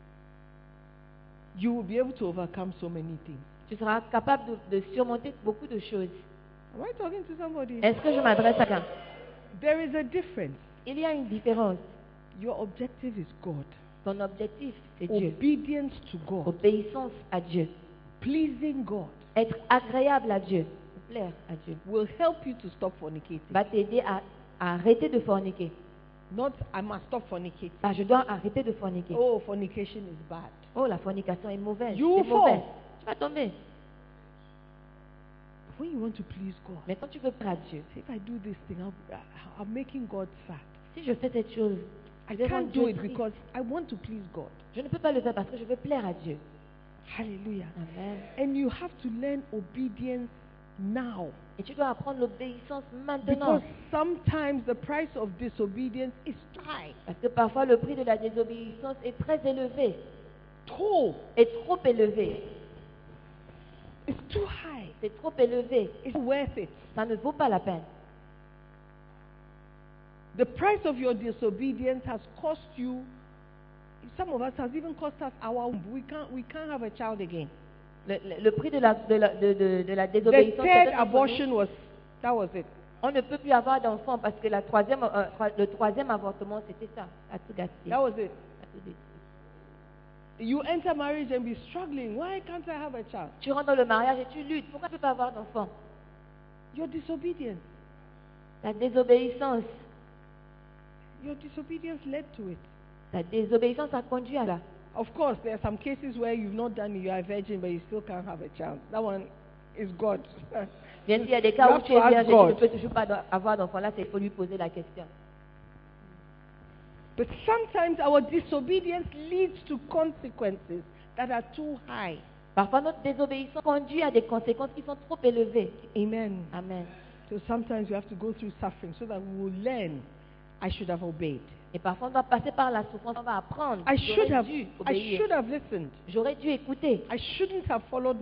you will be able to overcome so many things. tu seras capable de surmonter beaucoup de choses. Am I talking to somebody? Est-ce que je m'adresse à quelqu'un? There is a difference. Il y a une différence. Your objective is God. Ton objectif, c'est Dieu. Obedience to God. Obéissance à Dieu. Pleasing God Être agréable à Dieu, plaire à Dieu, will help you to stop fornicating. va t'aider à arrêter de forniquer. Not, I must stop fornicating. Ah, je dois arrêter de forniquer. Oh, fornication is bad. Oh, la fornication est mauvaise. You C'est fall. mauvais. Tu vas tomber. When you want to please God, Mais quand tu veux plaire à Dieu, if I do this thing, I'm making God sad. si je fais cette chose, I je vais rendre can't do Dieu it triste. because I want to please God. Je ne peux pas le faire parce que je veux plaire à Dieu. Hallelujah. Amen. And you have to learn obedience now. Et tu dois apprendre l'obéissance Because maintenant. sometimes the price of disobedience is high. Parce que parfois le prix de la désobéissance est très élevé. tall. est trop élevé. It's too high. C'est trop élevé. It's worth it. Ça ne vaut pas la peine. The price of your disobedience has cost you. Some of us has even cost us our womb. We can't have a child again. Le prix de la The désobéissance, third peut-être entre abortion nous, that was it. on ne peut plus avoir d'enfants parce que le troisième avortement, c'était ça. À tout gâcher. That was it. À tout détruire. You enter marriage and be struggling. Why can't I have a child? Tu rentres dans le mariage et tu luttes. Pourquoi tu ne peux pas avoir d'enfants? Your disobedience. La désobéissance. Your disobedience led to it. La désobéissance a conduit à là. Of course, there are some cases where you've not done it, you are a virgin, but you still can't have a child. That one is God. Bien sûr, il y a des You cas où have tu to es ask vierge et tu ne God. peux toujours pas avoir d'enfant. Là, il faut lui poser la question. But sometimes our disobedience leads to consequences that are too high. Parfois, notre désobéissance conduit à des conséquences qui sont trop élevées. Amen. Amen. So sometimes we have to go through suffering so that we will learn, I should have obeyed. Et parfois, on doit passer par la souffrance. On va apprendre. I should J'aurais have, dû I obéir. should have listened. J'aurais dû écouter. I shouldn't have followed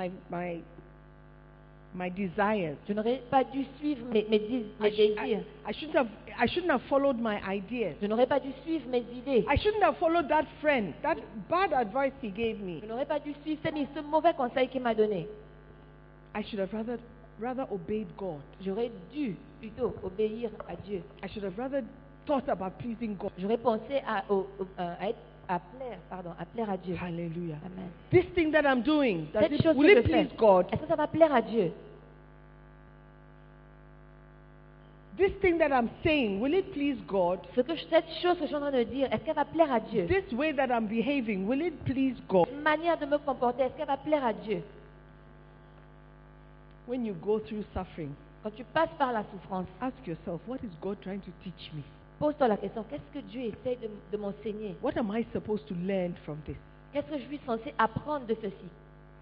my desires. Je n'aurais pas dû suivre mes désirs. I shouldn't have followed my ideas. Je n'aurais pas dû suivre mes idées. I shouldn't have followed that friend, that bad advice he gave me. Je n'aurais pas dû suivre ce mauvais conseil qu'il m'a donné. I should have rather obeyed God. J'aurais dû plutôt obéir à Dieu. I should have rather thought about pleasing God. J'aurais pensé à plaire à Dieu. Hallelujah. Amen. This thing that I'm doing, Cette chose will que it je fais, please God? est-ce que ça va plaire à Dieu? This thing that I'm saying, will it please God? Cette chose que je suis en train de dire, est-ce qu'elle va plaire à Dieu? This way that I'm behaving, will it please God? Cette manière de me comporter, est-ce qu'elle va plaire à Dieu? When you go through suffering, Quand tu passes par la souffrance, ask yourself, what is God trying to teach me? pose-toi la question, qu'est-ce que Dieu essaie de m'enseigner? What am I supposed to learn from this? Qu'est-ce que je suis censé apprendre de ceci?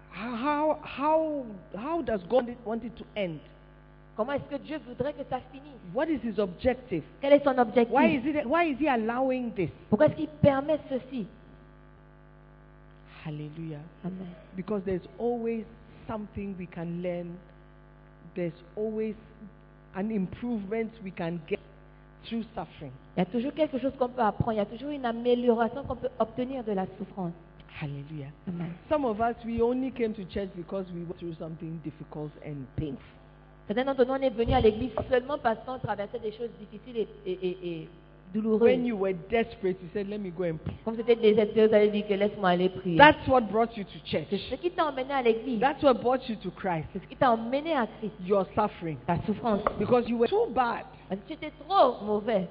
How does God want it to end? Comment est-ce que Dieu voudrait que ça finisse? What is his objective? Quel est son objectif? Why is he allowing this? Pourquoi est-ce qu'il permet ceci? Hallelujah. Amen. Because there's always something we can learn. There's always an improvement we can get through suffering. Il y a toujours quelque chose qu'on peut apprendre. Il y a toujours une amélioration qu'on peut obtenir de la souffrance. Hallelujah. Amen. Some of us, we only came to church because we went through something difficult and painful. Certains d'entre nous, on est venus à l'église seulement parce qu'on traversait des choses difficiles et douloureuses. When you were desperate, you said, let me go and pray. Comme c'était désespéré, vous avez dit que laisse-moi aller prier. That's what brought you to church. C'est ce qui t'a emmené à l'église. That's what brought you to Christ. C'est ce qui t'a emmené à Christ. Your suffering. Ta souffrance. Because you were too bad. Parce que tu étais trop mauvais.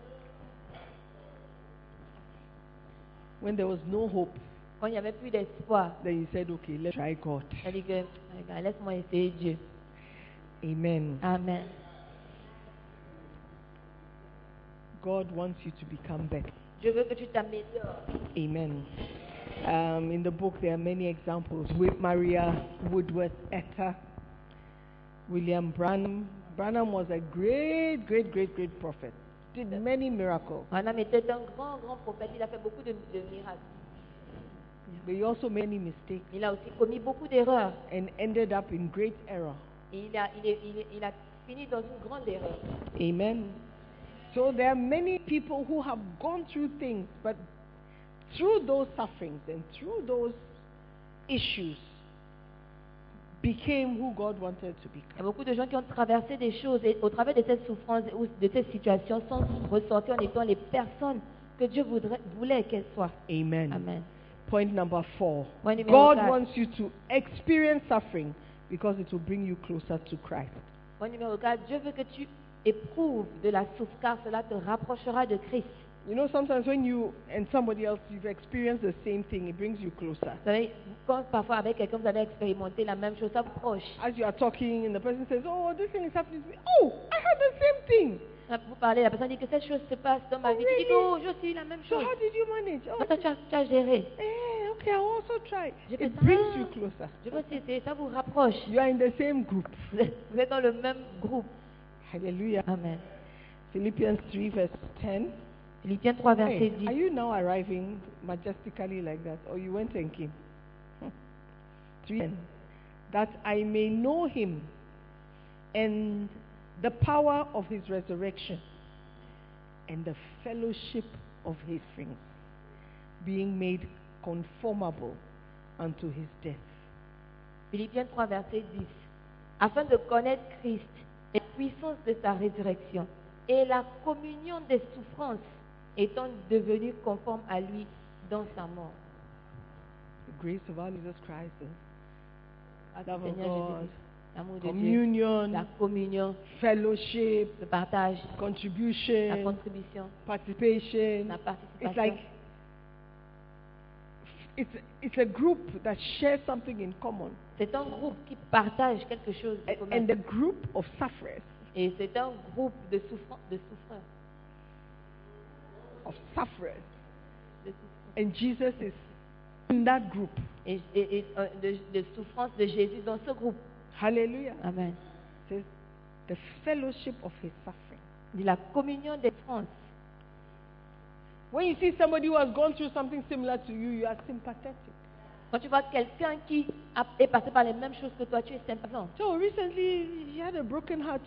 When there was no hope, Quand il n'y avait plus d'espoir, then you said, okay, let's try God. tu as dit que regarde, laisse-moi essayer Dieu. Amen. Amen. God wants you to become better. Je veux que tu t'améliores. Amen. In the book, there are many examples. With Maria Woodworth Etta, William Branham. Branham was a great prophet. Did many miracles. Branham était un grand prophète. Il a fait beaucoup de miracles. But he also made many mistakes Il a aussi commis beaucoup d'erreurs. and ended up in great error. Et il a fini dans une grande erreur. Amen. So there are many people who have gone through things, but through those sufferings and through those issues, became who God wanted to Il y a become. beaucoup de gens qui ont traversé des choses et au travers de cette souffrance ou de cette situation sont ressortis en étant les personnes que Dieu voulait qu'elles soient. Amen. Amen. Point number 4. Point numéro God 4. wants you to experience suffering because it will bring you closer to Christ. Point numéro 4. Dieu veut que tu éprouves de la souffrance car cela te rapprochera de Christ. You know, sometimes when you and somebody else, you've experienced the same thing, it brings you closer. Vous savez, quand parfois avec quelqu'un vous avez expérimenté la même chose, ça vous proche. As you are talking and the person says, oh, this thing is happening to me. Oh, I had the same thing. Vous parlez, la personne dit que cette chose se passe dans ma vie. Tu dis, oh, j'ai aussi la même So chose. how did you manage? Oh, Comment tu as géré? okay, I'll also try. Je fais It ça. brings you closer. Je veux essayer, ça vous rapproche. You are in the same group. Vous êtes dans le même groupe. Hallelujah. Amen. Philippians 3 verse 10. Philippiens 3, verset Hey, 10. are you now arriving majestically like that? Or you went and came? 3. That I may know him and the power of his resurrection and the fellowship of his things, being made conformable unto his death. Philippiens 3, verset 10. Afin de connaître Christ et la puissance de sa résurrection et la communion des souffrances, étant devenu conforme à lui dans sa mort. The grace of our Jesus Christ, the love of Seigneur God, Jésus, l'amour de Dieu, communion, la communion, fellowship, le partage, la contribution, contribution, participation. la It's participation. like it's a group that shares something in common. C'est un groupe qui partage quelque chose de commun. And the group of sufferers, Et c'est un groupe de souffreurs. De souffreurs. and Jesus is in that group. De souffrance de Jésus dans ce groupe. Hallelujah. Amen. It says the fellowship of his suffering. De la communion des souffrances. When you see somebody who has gone through something similar to you, you are sympathetic. Quand tu vois quelqu'un qui est passé par les mêmes choses que toi, tu es sympathisant. So recently, she had a broken heart.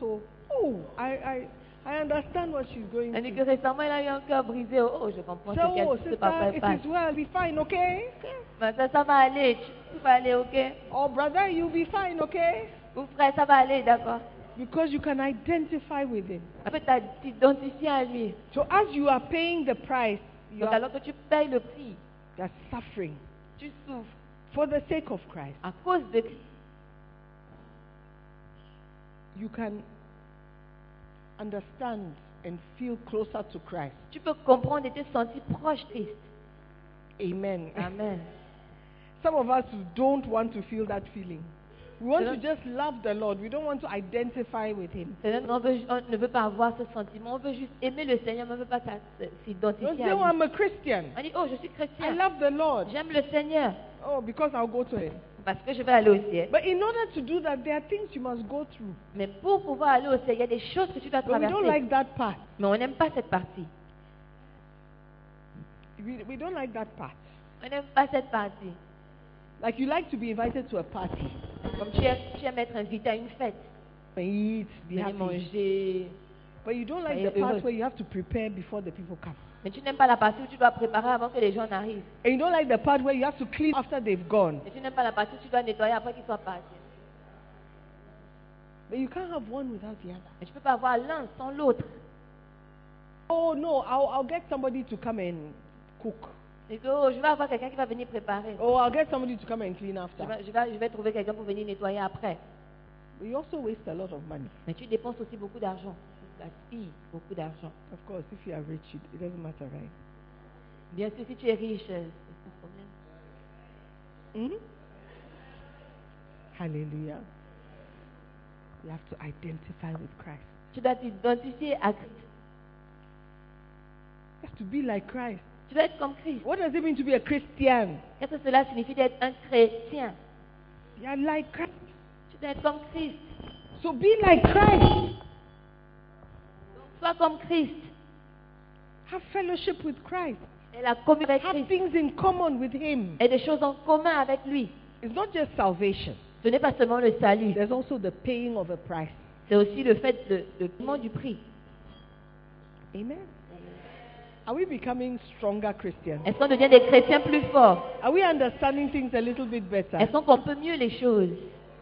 I understand what she's going Tandis que through. récemment, il a eu un cœur brisé. Oh, je comprends So, ce que sister, papa it passe. is well, be fine, okay? Ma soeur, ça va aller. Tu vas aller, ok? Or brother, you'll be fine, okay? Ou frère, ça va aller, d'accord? Because you can identify with him. En fait, tu t'identifies à lui. So as you are paying the price, you Donc, are alors que tu payes le prix, suffering tu souffres for the sake of Christ. à cause de Christ. You can understand and feel closer to Christ. Tu peux comprendre et te sentir proche de Christ. Amen. Amen. Some of us don't want to feel that feeling. We want C'est to just love the Lord. We don't want to identify with him. On ne veut pas avoir ce sentiment. On veut juste aimer le Seigneur, mais on ne veut pas Don't s'identifier say, à oh, lui. I'm a Christian. On dit, oh, je suis I chrétien. love the Lord. J'aime le Seigneur Oh, because I'll go to him. parce que je vais aller au ciel. But in order to do that, there are things you must go through. Mais pour pouvoir aller au ciel, il y a des choses que tu dois But we don't traverser. like that part. Mais on n'aime pas cette partie. We don't like that part. On n'aime pas cette partie. Like you like to be invited to a party. Comme tu aimes être invité à une fête, And eat, be venir happy. manger. But you don't like Soyez the part heureux. where you have to prepare before the people come. Mais tu n'aimes pas la partie où tu dois préparer avant que les gens n'arrivent. And you don't like the part where you have to clean after they've gone. Et tu n'aimes pas la partie où tu dois nettoyer après qu'ils soient partis. But you can't have one without the other. Mais tu ne peux pas avoir l'un sans l'autre. Oh no, I'll get somebody to come and cook. Et que, oh, je vais avoir quelqu'un qui va venir préparer. Oh, I'll get somebody to come and clean after. Je vais trouver quelqu'un pour venir nettoyer après. But you also waste a lot of money. Mais tu dépenses aussi beaucoup d'argent. Tu gaspilles beaucoup d'argent. Of course, if you are rich, it doesn't matter, right? Bien sûr, si tu es riche, c'est pas de problème. Hmm? Hallelujah. You have to identify with Christ. Tu dois t'identifier à Christ. You have to be like Christ. Tu dois être comme Christ. What does it mean to be a Christian? Qu'est-ce que cela signifie d'être un chrétien? You are like Christ. Tu dois être comme Christ. So be like Christ. Sois comme Christ. Have fellowship with Christ. Et la communion avec Have Christ. things in common with Him. Et des choses en commun avec lui. It's not just salvation. Ce n'est pas seulement le salut. There's also the paying of a price. C'est aussi le fait de paiement du prix. Amen. Are we becoming stronger Christians? Est-ce qu'on devient des chrétiens plus forts? Are we understanding things a little bit better? Est-ce qu'on comprend mieux les choses?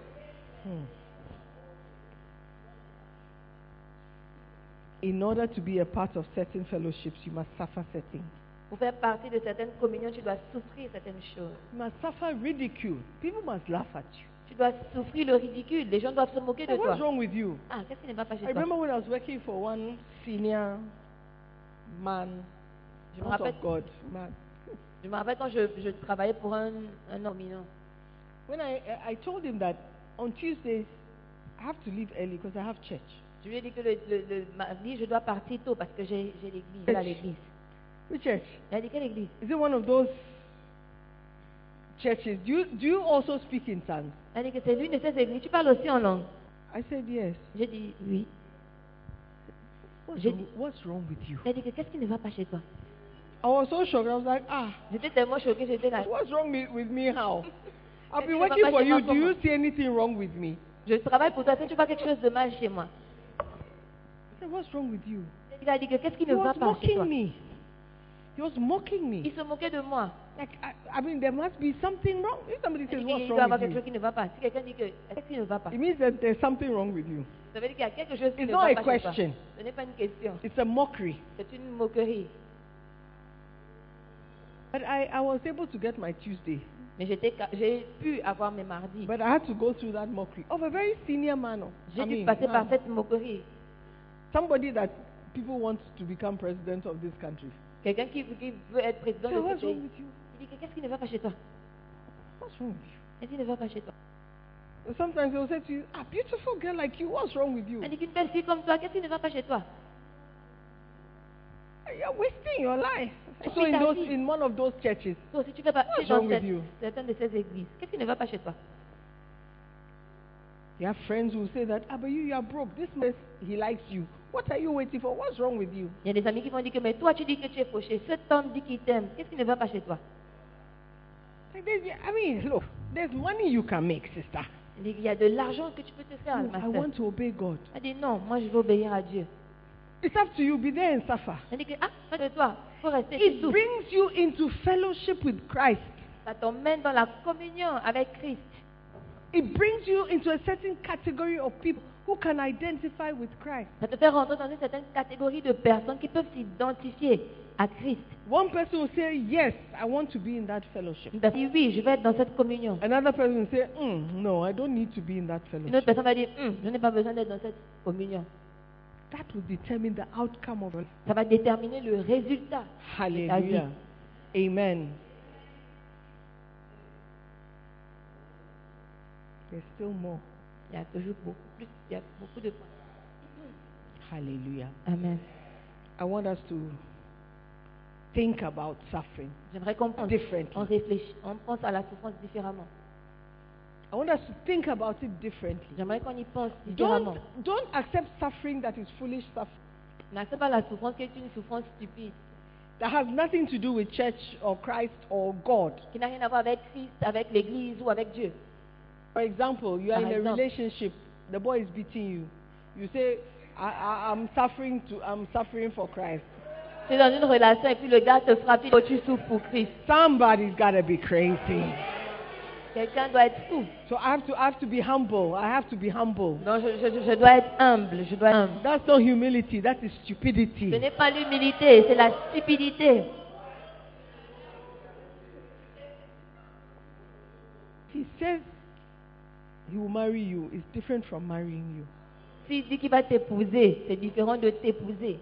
In order to be a part of certain fellowships, you must suffer certain. Pour faire partie de certaines communions, tu dois souffrir certaines choses. You must suffer ridicule. People must laugh at you. Tu dois souffrir le ridicule. Les gens doivent se moquer de Hey, what's toi. wrong with you? Ah, qu'est-ce qui n'est pas chez I toi? remember when I was working for one senior man, Je me not rappelle, of God, man. je me rappelle quand je travaillais pour un homme dominant. When I told him that on Tuesdays I have to leave early because I have church. Je lui ai dit que le mardi, je dois partir tôt parce que j'ai l'église. Je vais à l'église. Which church? Il a dit, quelle église? Is it one of those churches? Do you also speak in tongues? Il a dit que c'est l'une de ces églises. Tu parles aussi en langue. I said yes. J'ai dit oui. What's wrong with you? Il a dit que qu'est-ce qui ne va pas chez toi? I was so shocked. I was like, J'étais tellement choquée, j'étais là. what's wrong with me? How? I've been Qu'est-ce qui ne va working pas for chez you. moi, Do you comment? see anything wrong with me? Je travaille pour toi, est-ce que tu vois quelque chose de mal chez moi? I said, what's wrong with you? Il a dit que qu'est-ce qui He ne va was pas chez toi? mocking me. He was mocking me. Il se moquait de moi. Like, I mean, there must be something wrong. If somebody Il says, dit qu'il what's doit y avoir wrong quelque with chose qui ne va pas. Si quelqu'un dit que qu'est-ce qui ne va pas, you? It means that there's something wrong with you. ça veut dire qu'il y a quelque chose qui It's ne not va a pas chez toi. question. Ce n'est pas une question, It's a mockery. c'est une moquerie. But I was able to get my Tuesday. Mais j'ai pu avoir mes mardis. But I had to go through that mockery of a very senior man. J'ai dû passer par cette moquerie. Somebody that people want to become president of this country. Quelqu'un qui veut être président So de what's ce wrong pays. with you? Il dit que qu'est-ce qui ne va pas chez toi? What's wrong with you? Qu'est-ce qui ne va pas chez toi? Sometimes they'll say to you, beautiful girl like you, what's wrong with you? Il dit qu'une belle fille comme toi, qu'est-ce qui ne va pas chez toi? You're wasting your life. Et So puis ta in vie. one of those churches, Donc, si tu fais partie What's dans wrong with you? certaines de ces églises, qu'est-ce qui ne va pas chez toi? you have friends who say that, but you are broke. This man, he likes you. What are you waiting for? What's wrong with you? Il y a des amis qui vont dire que mais toi tu dis que tu es fauché, cet homme dit qu'il t'aime, qu'est-ce qui ne va pas chez toi? Like I mean, look, there's money you can make, sister. Il dit qu'il y a de l'argent que tu peux te faire, No, ma I sœur. want to obey God. Elle dit non, moi je veux obéir à Dieu. It's up to you. Be there and suffer. Elle dit que ça de toi, il faut rester It sous. brings you into fellowship with Christ. Ça t'emmène dans la communion avec Christ. It brings you into a certain category of people who can identify with Christ. Ça te fait rentrer dans une certaine catégorie de personnes qui peuvent s'identifier à Christ. One person will say, yes, I want to be in that fellowship. Une personne dit oui, je vais être dans cette communion. Another person will say, no, I don't need to be in that Une autre fellowship. personne va dire je n'ai pas besoin d'être dans cette communion. That will determine the outcome of it. Ça va déterminer le résultat. Hallelujah. Amen. There's still more. Il y a toujours beaucoup plus, il y a beaucoup de points. Hallelujah. Amen. I want us to think about suffering J'aimerais qu'on pense, differently. on réfléchit, on pense à la souffrance différemment. I want us to think about it differently. J'aimerais qu'on y pense différemment. Don't accept suffering that is foolish suffering. N'accepte pas la souffrance qui est une souffrance stupide, That has nothing to do with church or Christ or God. qui n'a rien à voir avec Christ, avec l'Église ou avec Dieu. For example, you are Par in a exemple. relationship, the boy is beating you. You say, I'm suffering for Christ. Tu es dans une relation et puis le gars te frappe, il dit, oh, tu souffres pour Christ. Somebody's got to be crazy. Quelqu'un doit être fou. So I have to be humble. I have to be humble. Non, je dois être humble, je dois être humble. That's not humility, that is Ce stupidity. n'est pas l'humilité, c'est la stupidité. He says he will marry you. It's different from marrying you. S'il dit qu'il va t'épouser, c'est différent de t'épouser.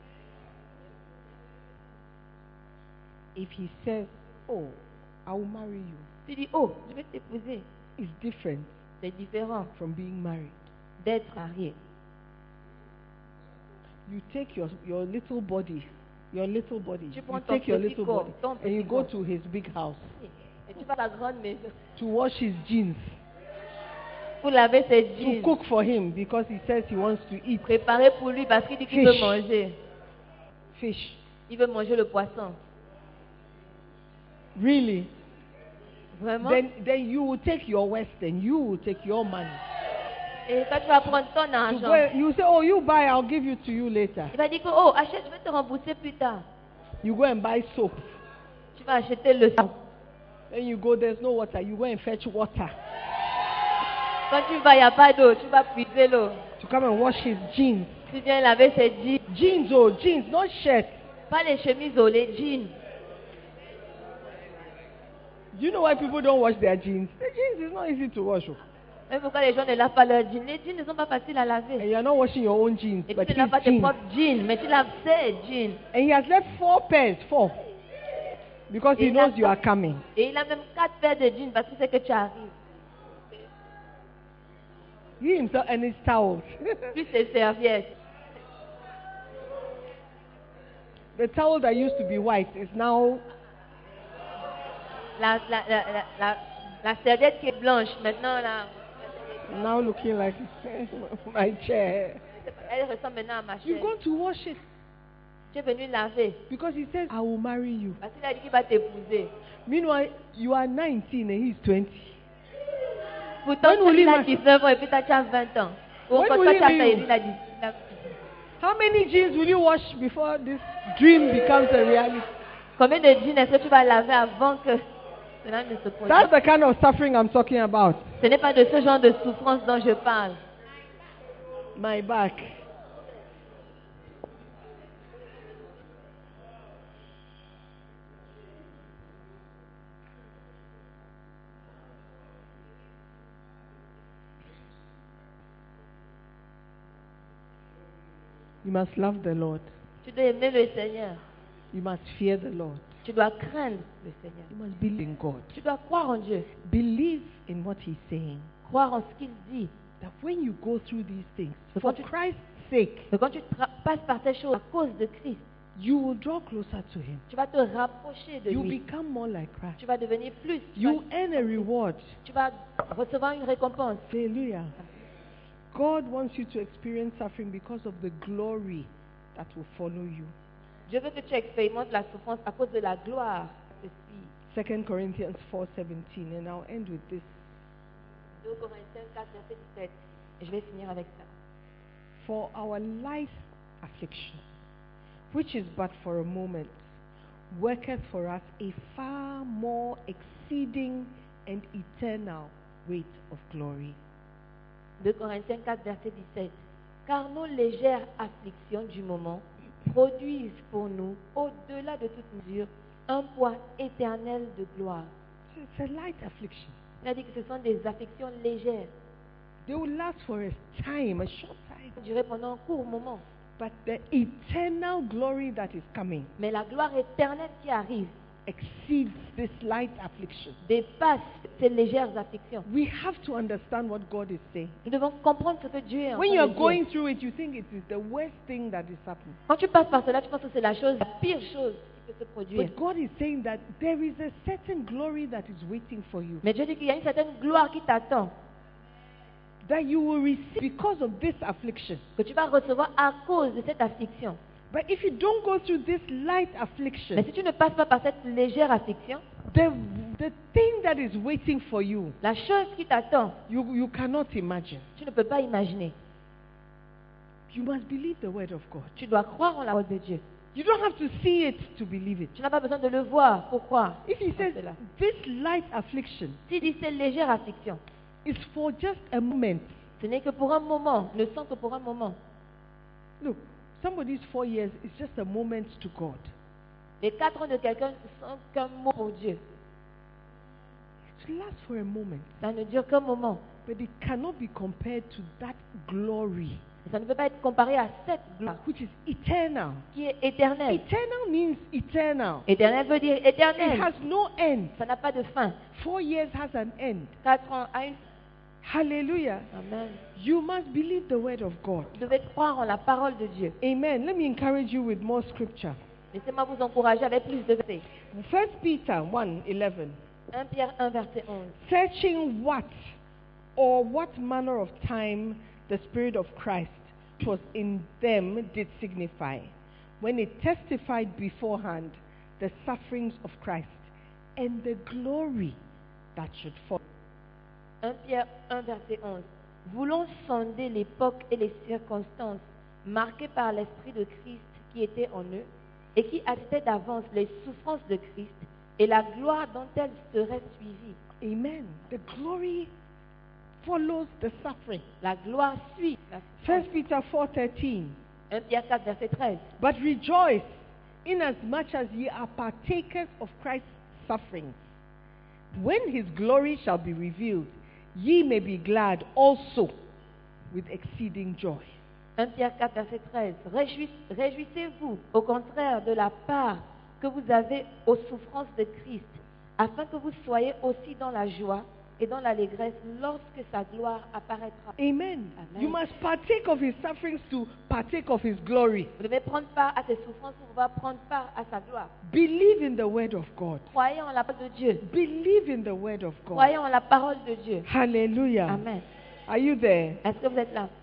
If he says, oh, I will marry you, Tu dis, oh, je vais t'épouser. it's different C'est différent from being married. d'être marié. You take your little body, Tu prends you ton take your petit little corps, body, ton and petit you go corps. to his big house Et tu vas à la grande maison to wash his jeans, pour laver ses to jeans. cook for him because he says he wants to eat Préparer pour lui parce qu'il dit qu'il veut Fish. manger. fish. Il veut manger le poisson. Really? Vraiment? Then you will take your Western, you will take your money. Et quand tu vas prendre ton To argent, go, you say, oh, you buy, I'll give you to you later. il va dire que, oh, achète, je vais te rembourser plus tard. You go and buy soap. Tu vas acheter le savon. Then you go, there's no water. You go and fetch water Quand tu vas, il n'y a pas d'eau, tu vas puiser l'eau. to come and wash his jeans. Tu viens laver ses jeans. Jeans, oh, jeans, not shirt. Pas les chemises, oh, les jeans. Do you know why people don't wash their jeans? The jeans is not easy to wash. Oh. Même pourquoi les gens ne lavent pas leurs jeans. Les jeans ne sont pas faciles à And laver. you are not washing your own jeans, Et but tu his ne laves pas tes jeans. propres jeans, mais tu laves ses jeans. And he has left 4 pairs, 4. Because he Et knows il a- you are coming. Et il a même 4 paires de jeans parce qu'il sait que tu arrives. He himself and his towels. Plus ses serviettes. The towel that used to be white is now La serviette qui est blanche, maintenant, là, looking like my chair. Elle ressemble maintenant à ma You're chaise. going to wash it Tu es venu laver. because he says, I will marry you. Parce qu'il a dit qu'il va t'épouser. Meanwhile, you are 19 and he's 20. Pourtant, When will il he a ma- 19 ans et puis toi, tu as 20 ans. Ou When quand will toi, he tu as marry fait, you? il a dit. How many jeans will you wash before this dream becomes a reality? Combien de jeans est-ce que tu vas laver avant que cela ne se produise? That's the kind of suffering I'm talking about. Ce n'est pas de ce genre de souffrance dont je parle. My back. You must love the Lord. Tu dois aimer le Seigneur. You must fear the Lord. Tu dois craindre le Seigneur. You must believe in God. Tu dois croire en Dieu. Believe in what He's saying. Croire en ce qu'il dit. That when you go through these things, So for quand tu- Christ's sake, Que quand tu passes par ces choses à cause de Christ, you will draw closer to Him. tu vas te rapprocher de You lui. become more like Christ. Tu vas devenir plus. You earn a reward. Tu vas recevoir une récompense. Hallelujah. God wants you to experience suffering because of the glory that will follow you. Dieu veut que tu expérimentes la souffrance à cause de la gloire qui te suit. 2 Corinthians 4:17, and I'll end with this. 2 Corinthiens 4, verset 17. Et je vais finir avec ça. For our light affliction, which is but for a moment, worketh for us a far more exceeding and eternal weight of glory. 2 Corinthiens 4, verset 17. Car nos légères afflictions du moment produisent pour nous, au-delà de toute mesure, un poids éternel de gloire. So it's a light affliction. C'est-à-dire que ce sont des afflictions légères, They will last for a time, a short time. qui durent pendant un court moment. But the eternal glory that is coming Mais la gloire éternelle qui arrive exceeds this light affliction. dépasse ces légères afflictions. We have to understand what God is saying. Nous devons comprendre ce que Dieu est en When train you are de dire. going through it, you think it is the worst thing that is happening. Quand tu passes par cela, tu penses que c'est la pire chose qui peut se produire. But God is saying that there is a certain glory that is waiting for you, Mais Dieu dit qu'il y a une certaine gloire qui t'attend, that you will receive because of this affliction. que tu vas recevoir à cause de cette affliction. But if you don't go through this light Mais affliction, si tu ne passes pas par cette légère affliction, the thing that is waiting for you, la chose qui t'attend, you cannot imagine. tu ne peux pas imaginer. You must believe the word of God. Tu dois croire en la parole de Dieu. You don't have to see it to believe it. Tu n'as pas besoin de le voir pour croire. If he en says cela. this light affliction S'il dit cette légère affliction, is for just a moment. ce n'est que pour un moment, ne sens que pour un moment. Look, somebody's 4 years is just a moment to God. Les 4 ans de quelqu'un ne sont qu'un mot pour Dieu. It lasts for a moment, Ça ne dure qu'un moment. but it cannot be compared to that glory, Et ça ne peut pas être comparé à cette gloire which is eternal. qui est éternelle. Eternal means eternal. Éternel veut dire It éternel. has no end. Ça n'a pas de fin. 4 years has an end. 4 ans a une Hallelujah. Amen. You must believe the word of God. Vous devez croire en la parole de Dieu. Amen. Let me encourage you with more scripture. Laissez-moi vous encourager avec plus de versets. 1 Peter 1:11. 1 Pierre 1, verset 11. Searching what or what manner of time the Spirit of Christ which was in them did signify, when it testified beforehand the sufferings of Christ and the glory that should follow. 1 Pierre 1, verset 11. Voulons sonder l'époque et les circonstances marquées par l'Esprit de Christ qui était en eux et qui attestaient d'avance les souffrances de Christ et la gloire dont elles seraient suivies. Amen. The glory follows the suffering. La gloire suit la 1 souffrance. Peter 4:13. 1 Pierre 4, verset 13. But rejoice inasmuch as ye are partakers of Christ's sufferings. When his glory shall be revealed, ye may be glad also with exceeding joy. 1 Pierre 4, verset 13. Réjouissez-vous, au contraire, de la part que vous avez aux souffrances de Christ, afin que vous soyez aussi dans la joie et dans l'allégresse lorsque sa gloire apparaîtra. Amen. Amen. You must partake of his sufferings to partake of his glory. Vous devez prendre part à ses souffrances pour pouvoir prendre part à sa gloire. Believe in the word of God. Croyez en la parole de Dieu. Believe in the word of God. Croyez en la parole de Dieu. Hallelujah. Amen. Are you there? Est-ce que vous êtes là?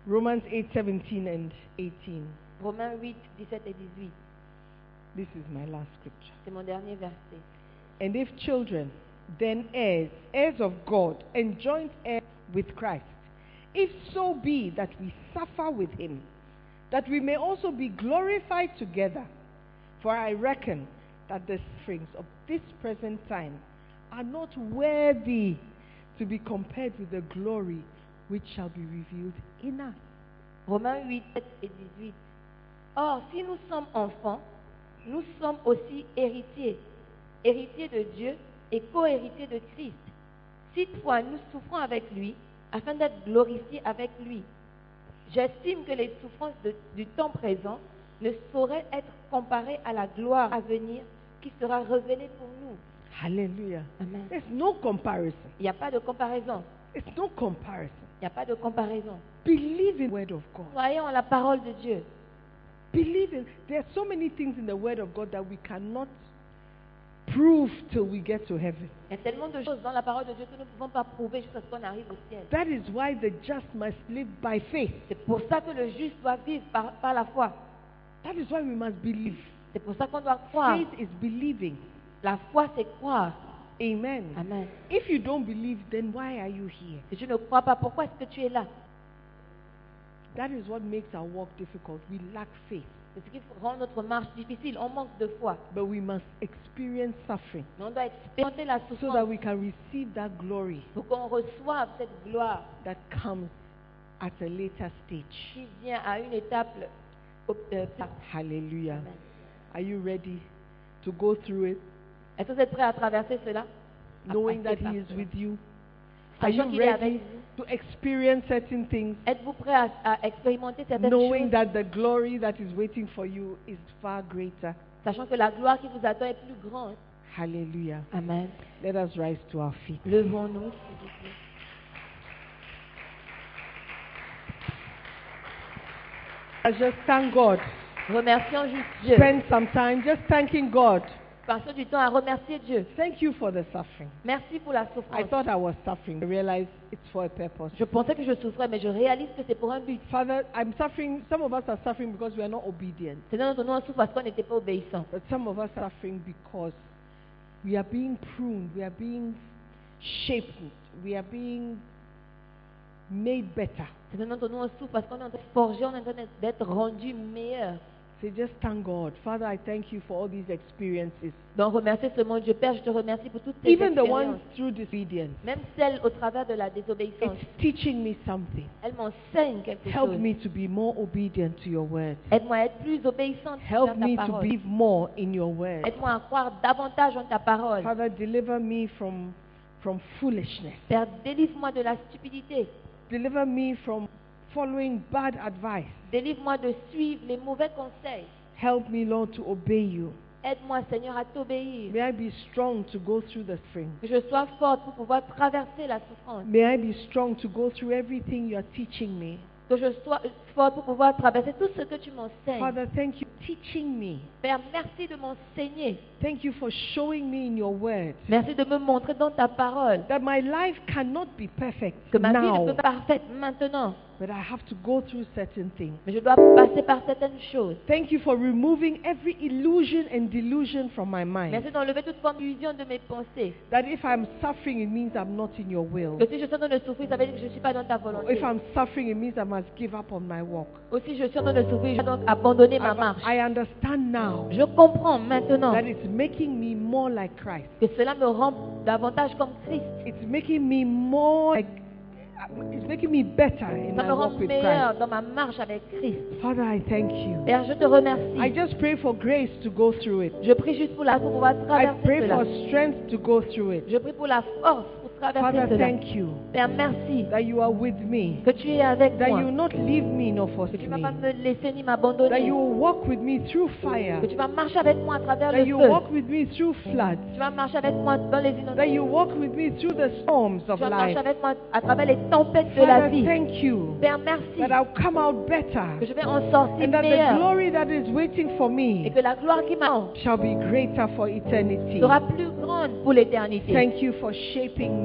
Romans 8:17 and 18. Romains 8, 17 et 18. This is my last scripture. C'est mon dernier verset. And if children, then heirs, heirs of God, and joint heirs with Christ, if so be that we suffer with him, that we may also be glorified together. For I reckon that the sufferings of this present time are not worthy to be compared with the glory which shall be revealed in us. Romains 8, 7 et 18. Or, si nous sommes enfants, nous sommes aussi héritiers, héritiers de Dieu et co-héritiers de Christ. Si toutefois nous souffrons avec lui, afin d'être glorifiés avec lui. J'estime que les souffrances du temps présent ne sauraient être comparées à la gloire à venir qui sera révélée pour nous. Hallelujah. Amen. There's no comparison. Il n'y a pas de comparaison. It's no comparison. Il n'y a pas de comparaison. Believe in the word of God. Croyons en la parole de Dieu. Believe in. There are so many things in the word of God that we cannot prove till we get to heaven. Il y a tellement de choses dans la parole de Dieu que nous ne pouvons pas prouver jusqu'à ce qu'on arrive au ciel. That is why the just must live by faith. C'est pour ça que le juste doit vivre par la foi. That is why we must believe. C'est pour ça qu'on doit croire. Faith is believing. La foi, c'est croire. Amen. Amen. If you don't believe, then why are you here? Si tu ne crois pas, pourquoi est-ce que tu es là? That is what makes our walk difficult. We lack faith. C'est ce qui rend notre marche difficile. On manque de foi. But we must experience suffering Mais on doit expérimenter la so that souffrance we can receive that glory pour qu'on reçoive cette gloire that comes at a later stage. qui vient à une étape tard. Hallelujah. Amen. Are you ready to go through it, Est-ce que vous êtes prêts à traverser cela? À knowing that passer par He is cela. with you? Are Sachant you qu'il est avec ready vous. to experience certain things, Êtes-vous prêts à expérimenter certaines knowing choses, that the glory that is waiting for you is far greater? sachant que la gloire qui vous attend est plus grande? Hallelujah. Amen. Let us rise to our feet. Levons-nous, s'il vous plaît. I just thank God. Remercions juste Dieu. Spend some time just thanking God. Passons du temps à remercier Dieu. Thank you for the suffering. Merci pour la I souffrance. thought I was suffering. I realized it's for a purpose. Je pensais que je souffrais, mais je réalise que c'est pour un but. Father, I'm suffering. Some of us are suffering because we are not obedient. Seigneur, notre nom souffre parce qu'on n'était pas obéissant. But some of us are suffering because we are being pruned, we are being shaped, we are being made better. Seigneur, notre nom souffre parce qu'on est en train de forger, on est en train d'être rendu meilleur. So just thank God. Father, I thank you for all these experiences. Donc remercier ce monde. Dieu Père, je te remercie pour toutes ces Even the expériences. ones through disobedience. Même celles au travers de la désobéissance. It's teaching me something. Elles m'enseignent quelque Help chose. me to be more obedient to your word. Aide-moi à être plus obéissante Help envers me ta to parole. believe more in your word. Aide-moi à croire davantage en ta parole. Father, deliver me from foolishness. Père, délivre-moi de la stupidité. Deliver me from following bad advice. Délivre-moi de suivre les mauvais conseils. Help me, Lord, to obey you. Aide-moi, Seigneur, à t'obéir. May I be strong to go through the spring. Que je sois forte pour pouvoir traverser la souffrance. May I be strong to go through everything you are teaching me. Que je sois forte pour pouvoir traverser tout ce que tu m'enseignes. Father, thank you for teaching me. Père, merci de m'enseigner. Thank you for showing me in your word Merci de me montrer dans ta parole that my life cannot be perfect que ma vie ne now, peut pas être parfaite maintenant, but I have to go through certain things. mais je dois passer par certaines choses. Thank you for removing every illusion and delusion from my mind. Merci d'enlever toute forme d'illusion de mes pensées. That if I'm suffering, it means I'm not in your will. Que si je suis en train de souffrir, ça veut dire que je ne suis pas dans ta volonté. If I'm suffering, it means I must give up on my walk. Ou si je suis en train de souffrir, je dois donc abandonner ma marche. I understand now Je comprends maintenant that it's making me more like Christ. que cela me rend davantage comme Christ. It's making me more like, it's making me better in Ça my me rend walk with meilleur Christ. dans ma marche avec Christ. Father, I thank you. Père, je te I remercie. just pray for grace to go through it. Je prie juste pour la pour pouvoir I traverser pray cela. for strength to go through it. Je prie pour la force pour traverser Father, cela. thank you Père, merci that you are with me, que tu es avec that moi. you will not leave me nor Que forsake tu ne vas me, pas me laisser ni that m'abandonner. you will walk with me through fire, Que tu vas marcher avec moi à travers that le you feu. will walk with me through floods, Tu vas marcher avec moi dans les that inondations. you walk with me through the storms Tu of vas marcher life. avec moi à travers les tempêtes de la Father, vie. thank you Père, merci that I'll come out que better, je vais en sortir and that the meilleur glory that is waiting for et me que la gloire qui m'attend shall be greater for eternity. sera plus grande pour l'éternité. Thank you for shaping me.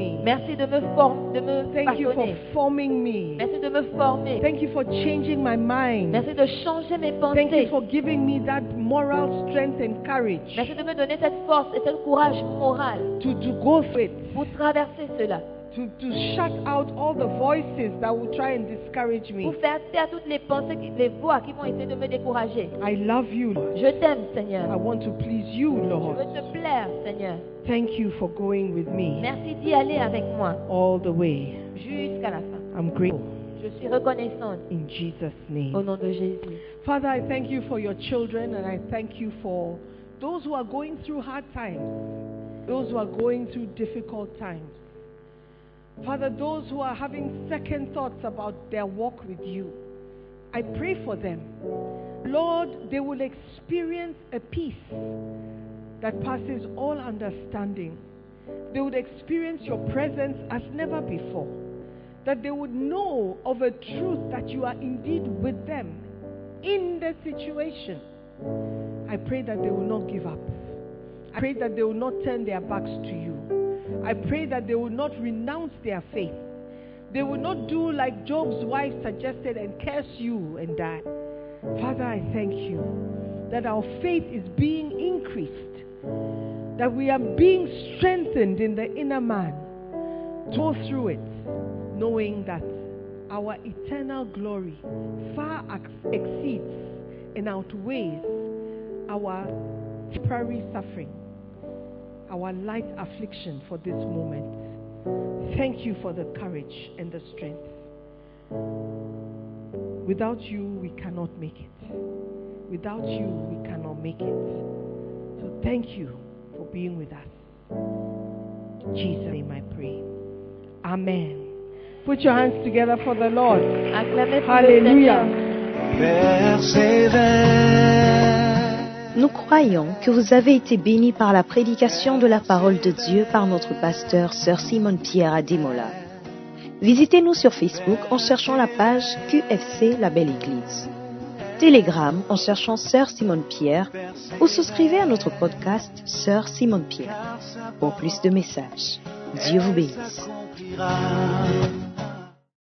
me. Merci de me Thank you for façonner. forming me. Merci de me former. Thank you for changing my mind. Merci de changer mes Thank you pensées. for giving me that moral strength and courage Merci de me donner cette force et ce courage moral to go through it, pour traverser cela. to shut out all the voices that will try and discourage me. Pour faire taire toutes les pensées, les voix qui vont essayer de me décourager. I love you, Lord. Je t'aime, I Seigneur. want to please you, Je Lord. veux te plaire, Seigneur. Thank you for going with me Merci d'y aller avec moi all the way. jusqu'à la fin. I'm grateful Je suis reconnaissante in Jesus' au name. nom de Jésus. Father, I thank you for your children, and I thank you for those who are going through hard times, those who are going through difficult times. Father, those who are having second thoughts about their walk with you, I pray for them. Lord, they will experience a peace that passes all understanding. They would experience your presence as never before. That they would know of a truth that you are indeed with them in the situation. I pray that they will not give up. I pray that they will not turn their backs to you. I pray that they will not renounce their faith. They will not do like Job's wife suggested and curse you and die. Father, I thank you that our faith is being increased, that we are being strengthened in the inner man to go through it, knowing that our eternal glory far exceeds and outweighs our temporary suffering, our light affliction for this moment. Thank you for the courage and the strength. Without you, we cannot make it. Without you, we cannot make it. So thank you for being with us. In Jesus' name I pray. Amen. Put your hands together for the Lord. Acclamez pour le Hallelujah. Seigneur. Persévère. Nous croyons que vous avez été bénis par la prédication de la parole de Dieu par notre pasteur Sœur Simone Pierre à Demola. Visitez-nous sur Facebook en cherchant la page QFC La Belle Église. Telegram en cherchant Sœur Simone Pierre ou souscrivez à notre podcast Sœur Simone Pierre. Pour plus de messages, Dieu vous bénisse. S'accomplira.